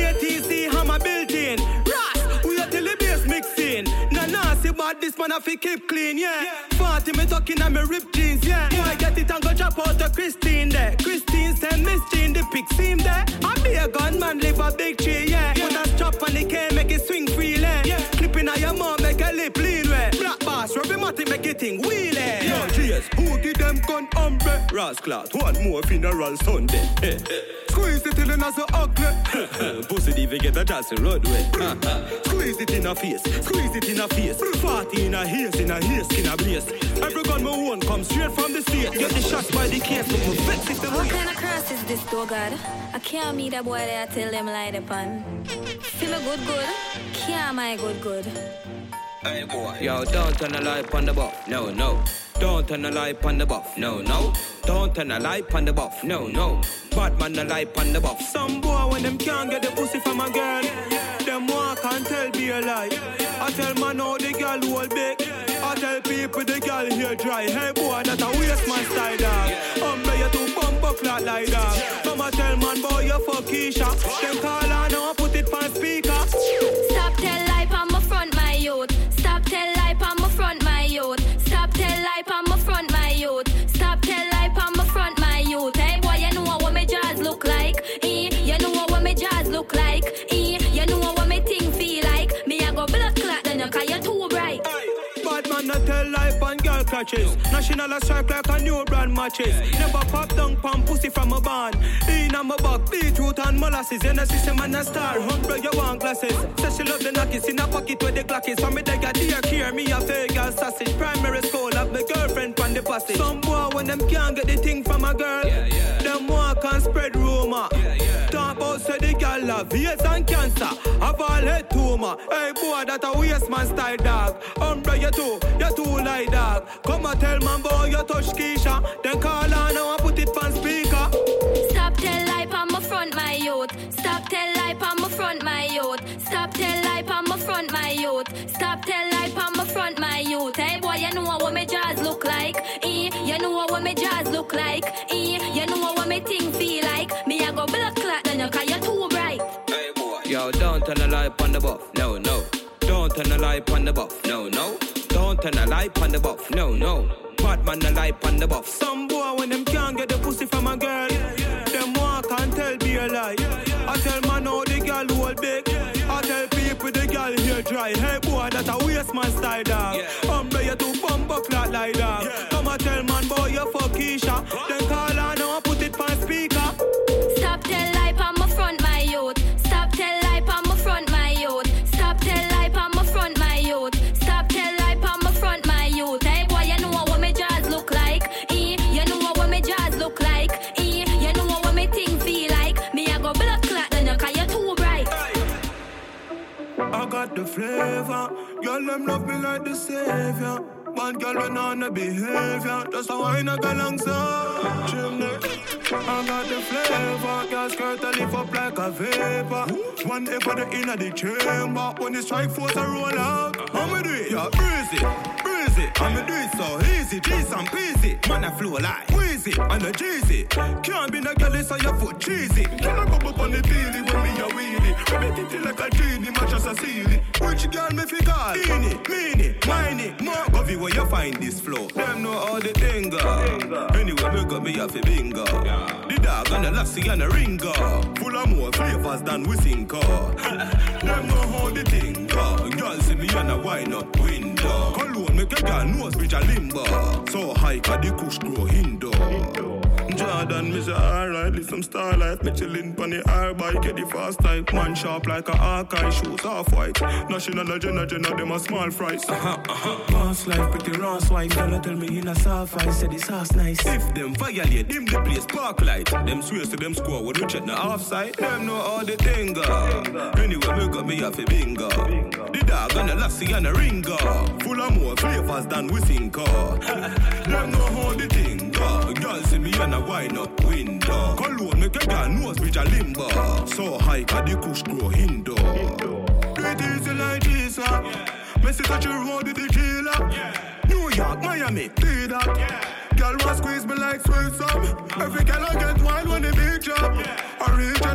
ATC hammer built in. Ras, we are till the bass mixing. Nah, see bad this man have to keep clean, yeah. 40 me talking on me ripped jeans, yeah. Boy get it and go drop out to Christine there. Christine send Miss Jean the pick seem there. I be a gunman, live a big tree, yeah. Put a strap on the cane, make it swing freely. Yeah. Clipping on your mom, make a lip lean way. Black bass, rubby matty, make it thing wheelie. Yo, cheers, who give them gun umbre? Rasclat, one more funeral Sunday. Squeeze it till it not so ugly. Pussy even get a chance to roadway. Squeeze it in a face, squeeze it in a face. 40 in a haze, skin a blaze. Every gun me own come straight from the state. Get the shots by the case, but me vex if them. What kind of curse is this, though, God? I can't meet a boy there, tell them lie upon. See me good, can't my good. Hey boy. Yo, don't turn the light on the buff, no. Don't turn the light on the buff, no. Don't turn the light on the buff, no. Bad man the light on the buff. Some boy when them can't get the pussy from a girl, them walk and tell be a lie. I tell man how the girl hold big. I tell people the girl here dry. Hey boy, that a waste man style dog. You to bump up flat like that. Come and tell man boy you fuck Keisha. Them call her now put it on speaker. Stop tell lie on my front my youth. Stop tell lie on my front my youth. Stop tell lie on my front my youth. Stop tell lie on my front my youth. Hey boy, you know what my jaws look like. You know what my jaws look like. You know what my thing feel like. Me I go blood clot then you cause you too bright. Bad man not tell life on girl clutches. National a strike like a new brand matches. Never pop down pan pussy from a band. In on my back, beetroot and molasses. In a system and a star, humble you want glasses. Say she love the knockers in a pocket where the Glock is. So me they got dear care, me a fake girl sausage. Primary school, have my girlfriend from the passage. Some boy when them can't get the thing from a girl, them walk and spread rumor. Talk about say the girl have AIDS and cancer, have all head tumor. Hey boy, that a waste man style dog. You too like dog. Come and tell man boy you touch Keisha. Then call her now and put it on speaker. Stop tell lie on my front my youth. Stop tell lie on my front my youth. Stop tell lie on my front my youth. Stop tell lie on my front my youth. Hey boy, you know what my jaws look like. You know what my jaws look like. You know what my thing feel like. Me I go blood clot then you cause you too bright. Hey boy. Yo, don't turn the light on the buff, no. Don't turn the light on the buff, no. Don't turn the light on the buff, no. Bad man the light on the buff. Some boy when them can't get the pussy from a girl, them walk and tell be a lie. I tell man how the girl hold big. I tell people the girl here dry. Hey boy, that a waste man style dog. You to bump up flat like that. Come and tell man boy you fuck Keisha. Then call her now and put it on speaker. Stop tell lie on my front my youth. Stop tell lie on my front my youth. Stop tell lie on my front my youth. Stop tell lie on my front my youth. Hey boy, you know what my jaws look like. You know what my jaws look like. You know what my thing feel like. Me I go blood clot then you cause you too bright. I got the flavor. Girl them love me like the savior. Bad girl when on the behavior. Just how I not go alongside chimney. I got the flavor. Girl skirt a lift up like a vapor. One ever the inner the chamber. When the strike force I roll out. I'ma do it, yeah, breezy. I'ma do it so easy, G's and peasy. Man I flow like Wheezy and the Jeezy. Can't be no girl so your foot cheesy. Can I go up on the daily when me a wheelie? We make it like a genie, match as a sealy. Which girl me fi call? Meanie, miney, more govy where you find this flow. Them know how the thing go. Anyway me got me a fi bingo. The dog and the lassie and the ringer. Full of more flavors than we think of. Them know how the thing go. Girl see me and a wine up window. Cologne make a girl nose bridge a limbo. So high ca the kush grow hindo. Jordan, me say alright, live some starlight. Me chillin' pon the air bike, get the fast type. Man sharp like a Archive, shoes half white. National agenda, them a small fries. Boss life, pretty raw swipe. Girl tell me in a soft ice, said this house nice. If them violate, dim the place spark light. Them swears to them score, would you check the offside? Them know how the thing go. Anyway, me got me a fi bingo. The dog and the lassie and the ringer. Full of more flavors than we think of. Them know how the thing go. Girl see me and a wine up window. Cologne make a girl nose bridge a limbo. So high ca the kush grow hindo. Do it easy like this, Messi touch your road with the killer. New York, Miami, do that. Girl want squeeze me like sweet some. Every girl I get wild when the big job. Original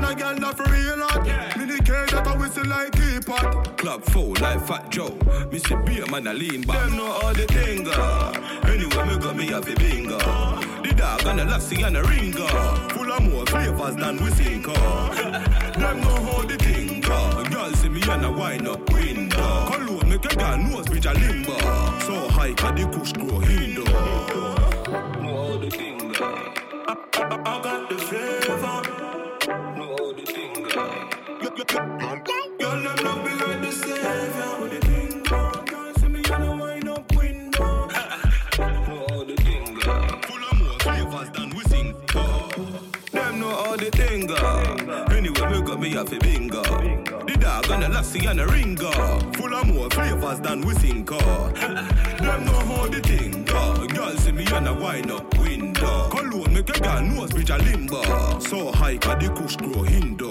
and a girl that for real hot. Mini cage that a whistle like teapot. Club full like Fat Joe. Me see beer man a lean back. Them know all the thing. Anyway, me got me have a bingo. The dog and the lassie and a ringer. Full of more flavors than we think. Them know how the thing. Girl see me and a wine up window. Cologne make a girl nose bridge a limbo. So high can the kush grow hindo. Know how the thing. I got the flavor. Know how the thing. Girl, them love me like the savior. The thing, girl, see me and a wine up window. Know how the thing. Full of more flavors than we sing. Them know how the thing. Anyway, me got me have a bingo. The dog and the lassie and a ringer. Full of more flavors than we think. Them know how the thing. Girl see me and a wine up window. Cologne make a girl nose bridge a limbo. So high can the kush grow hindo.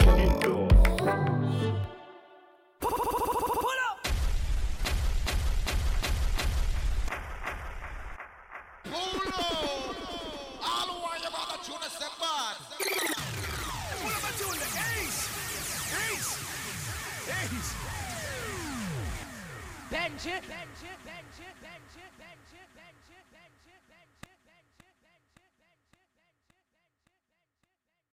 Benji.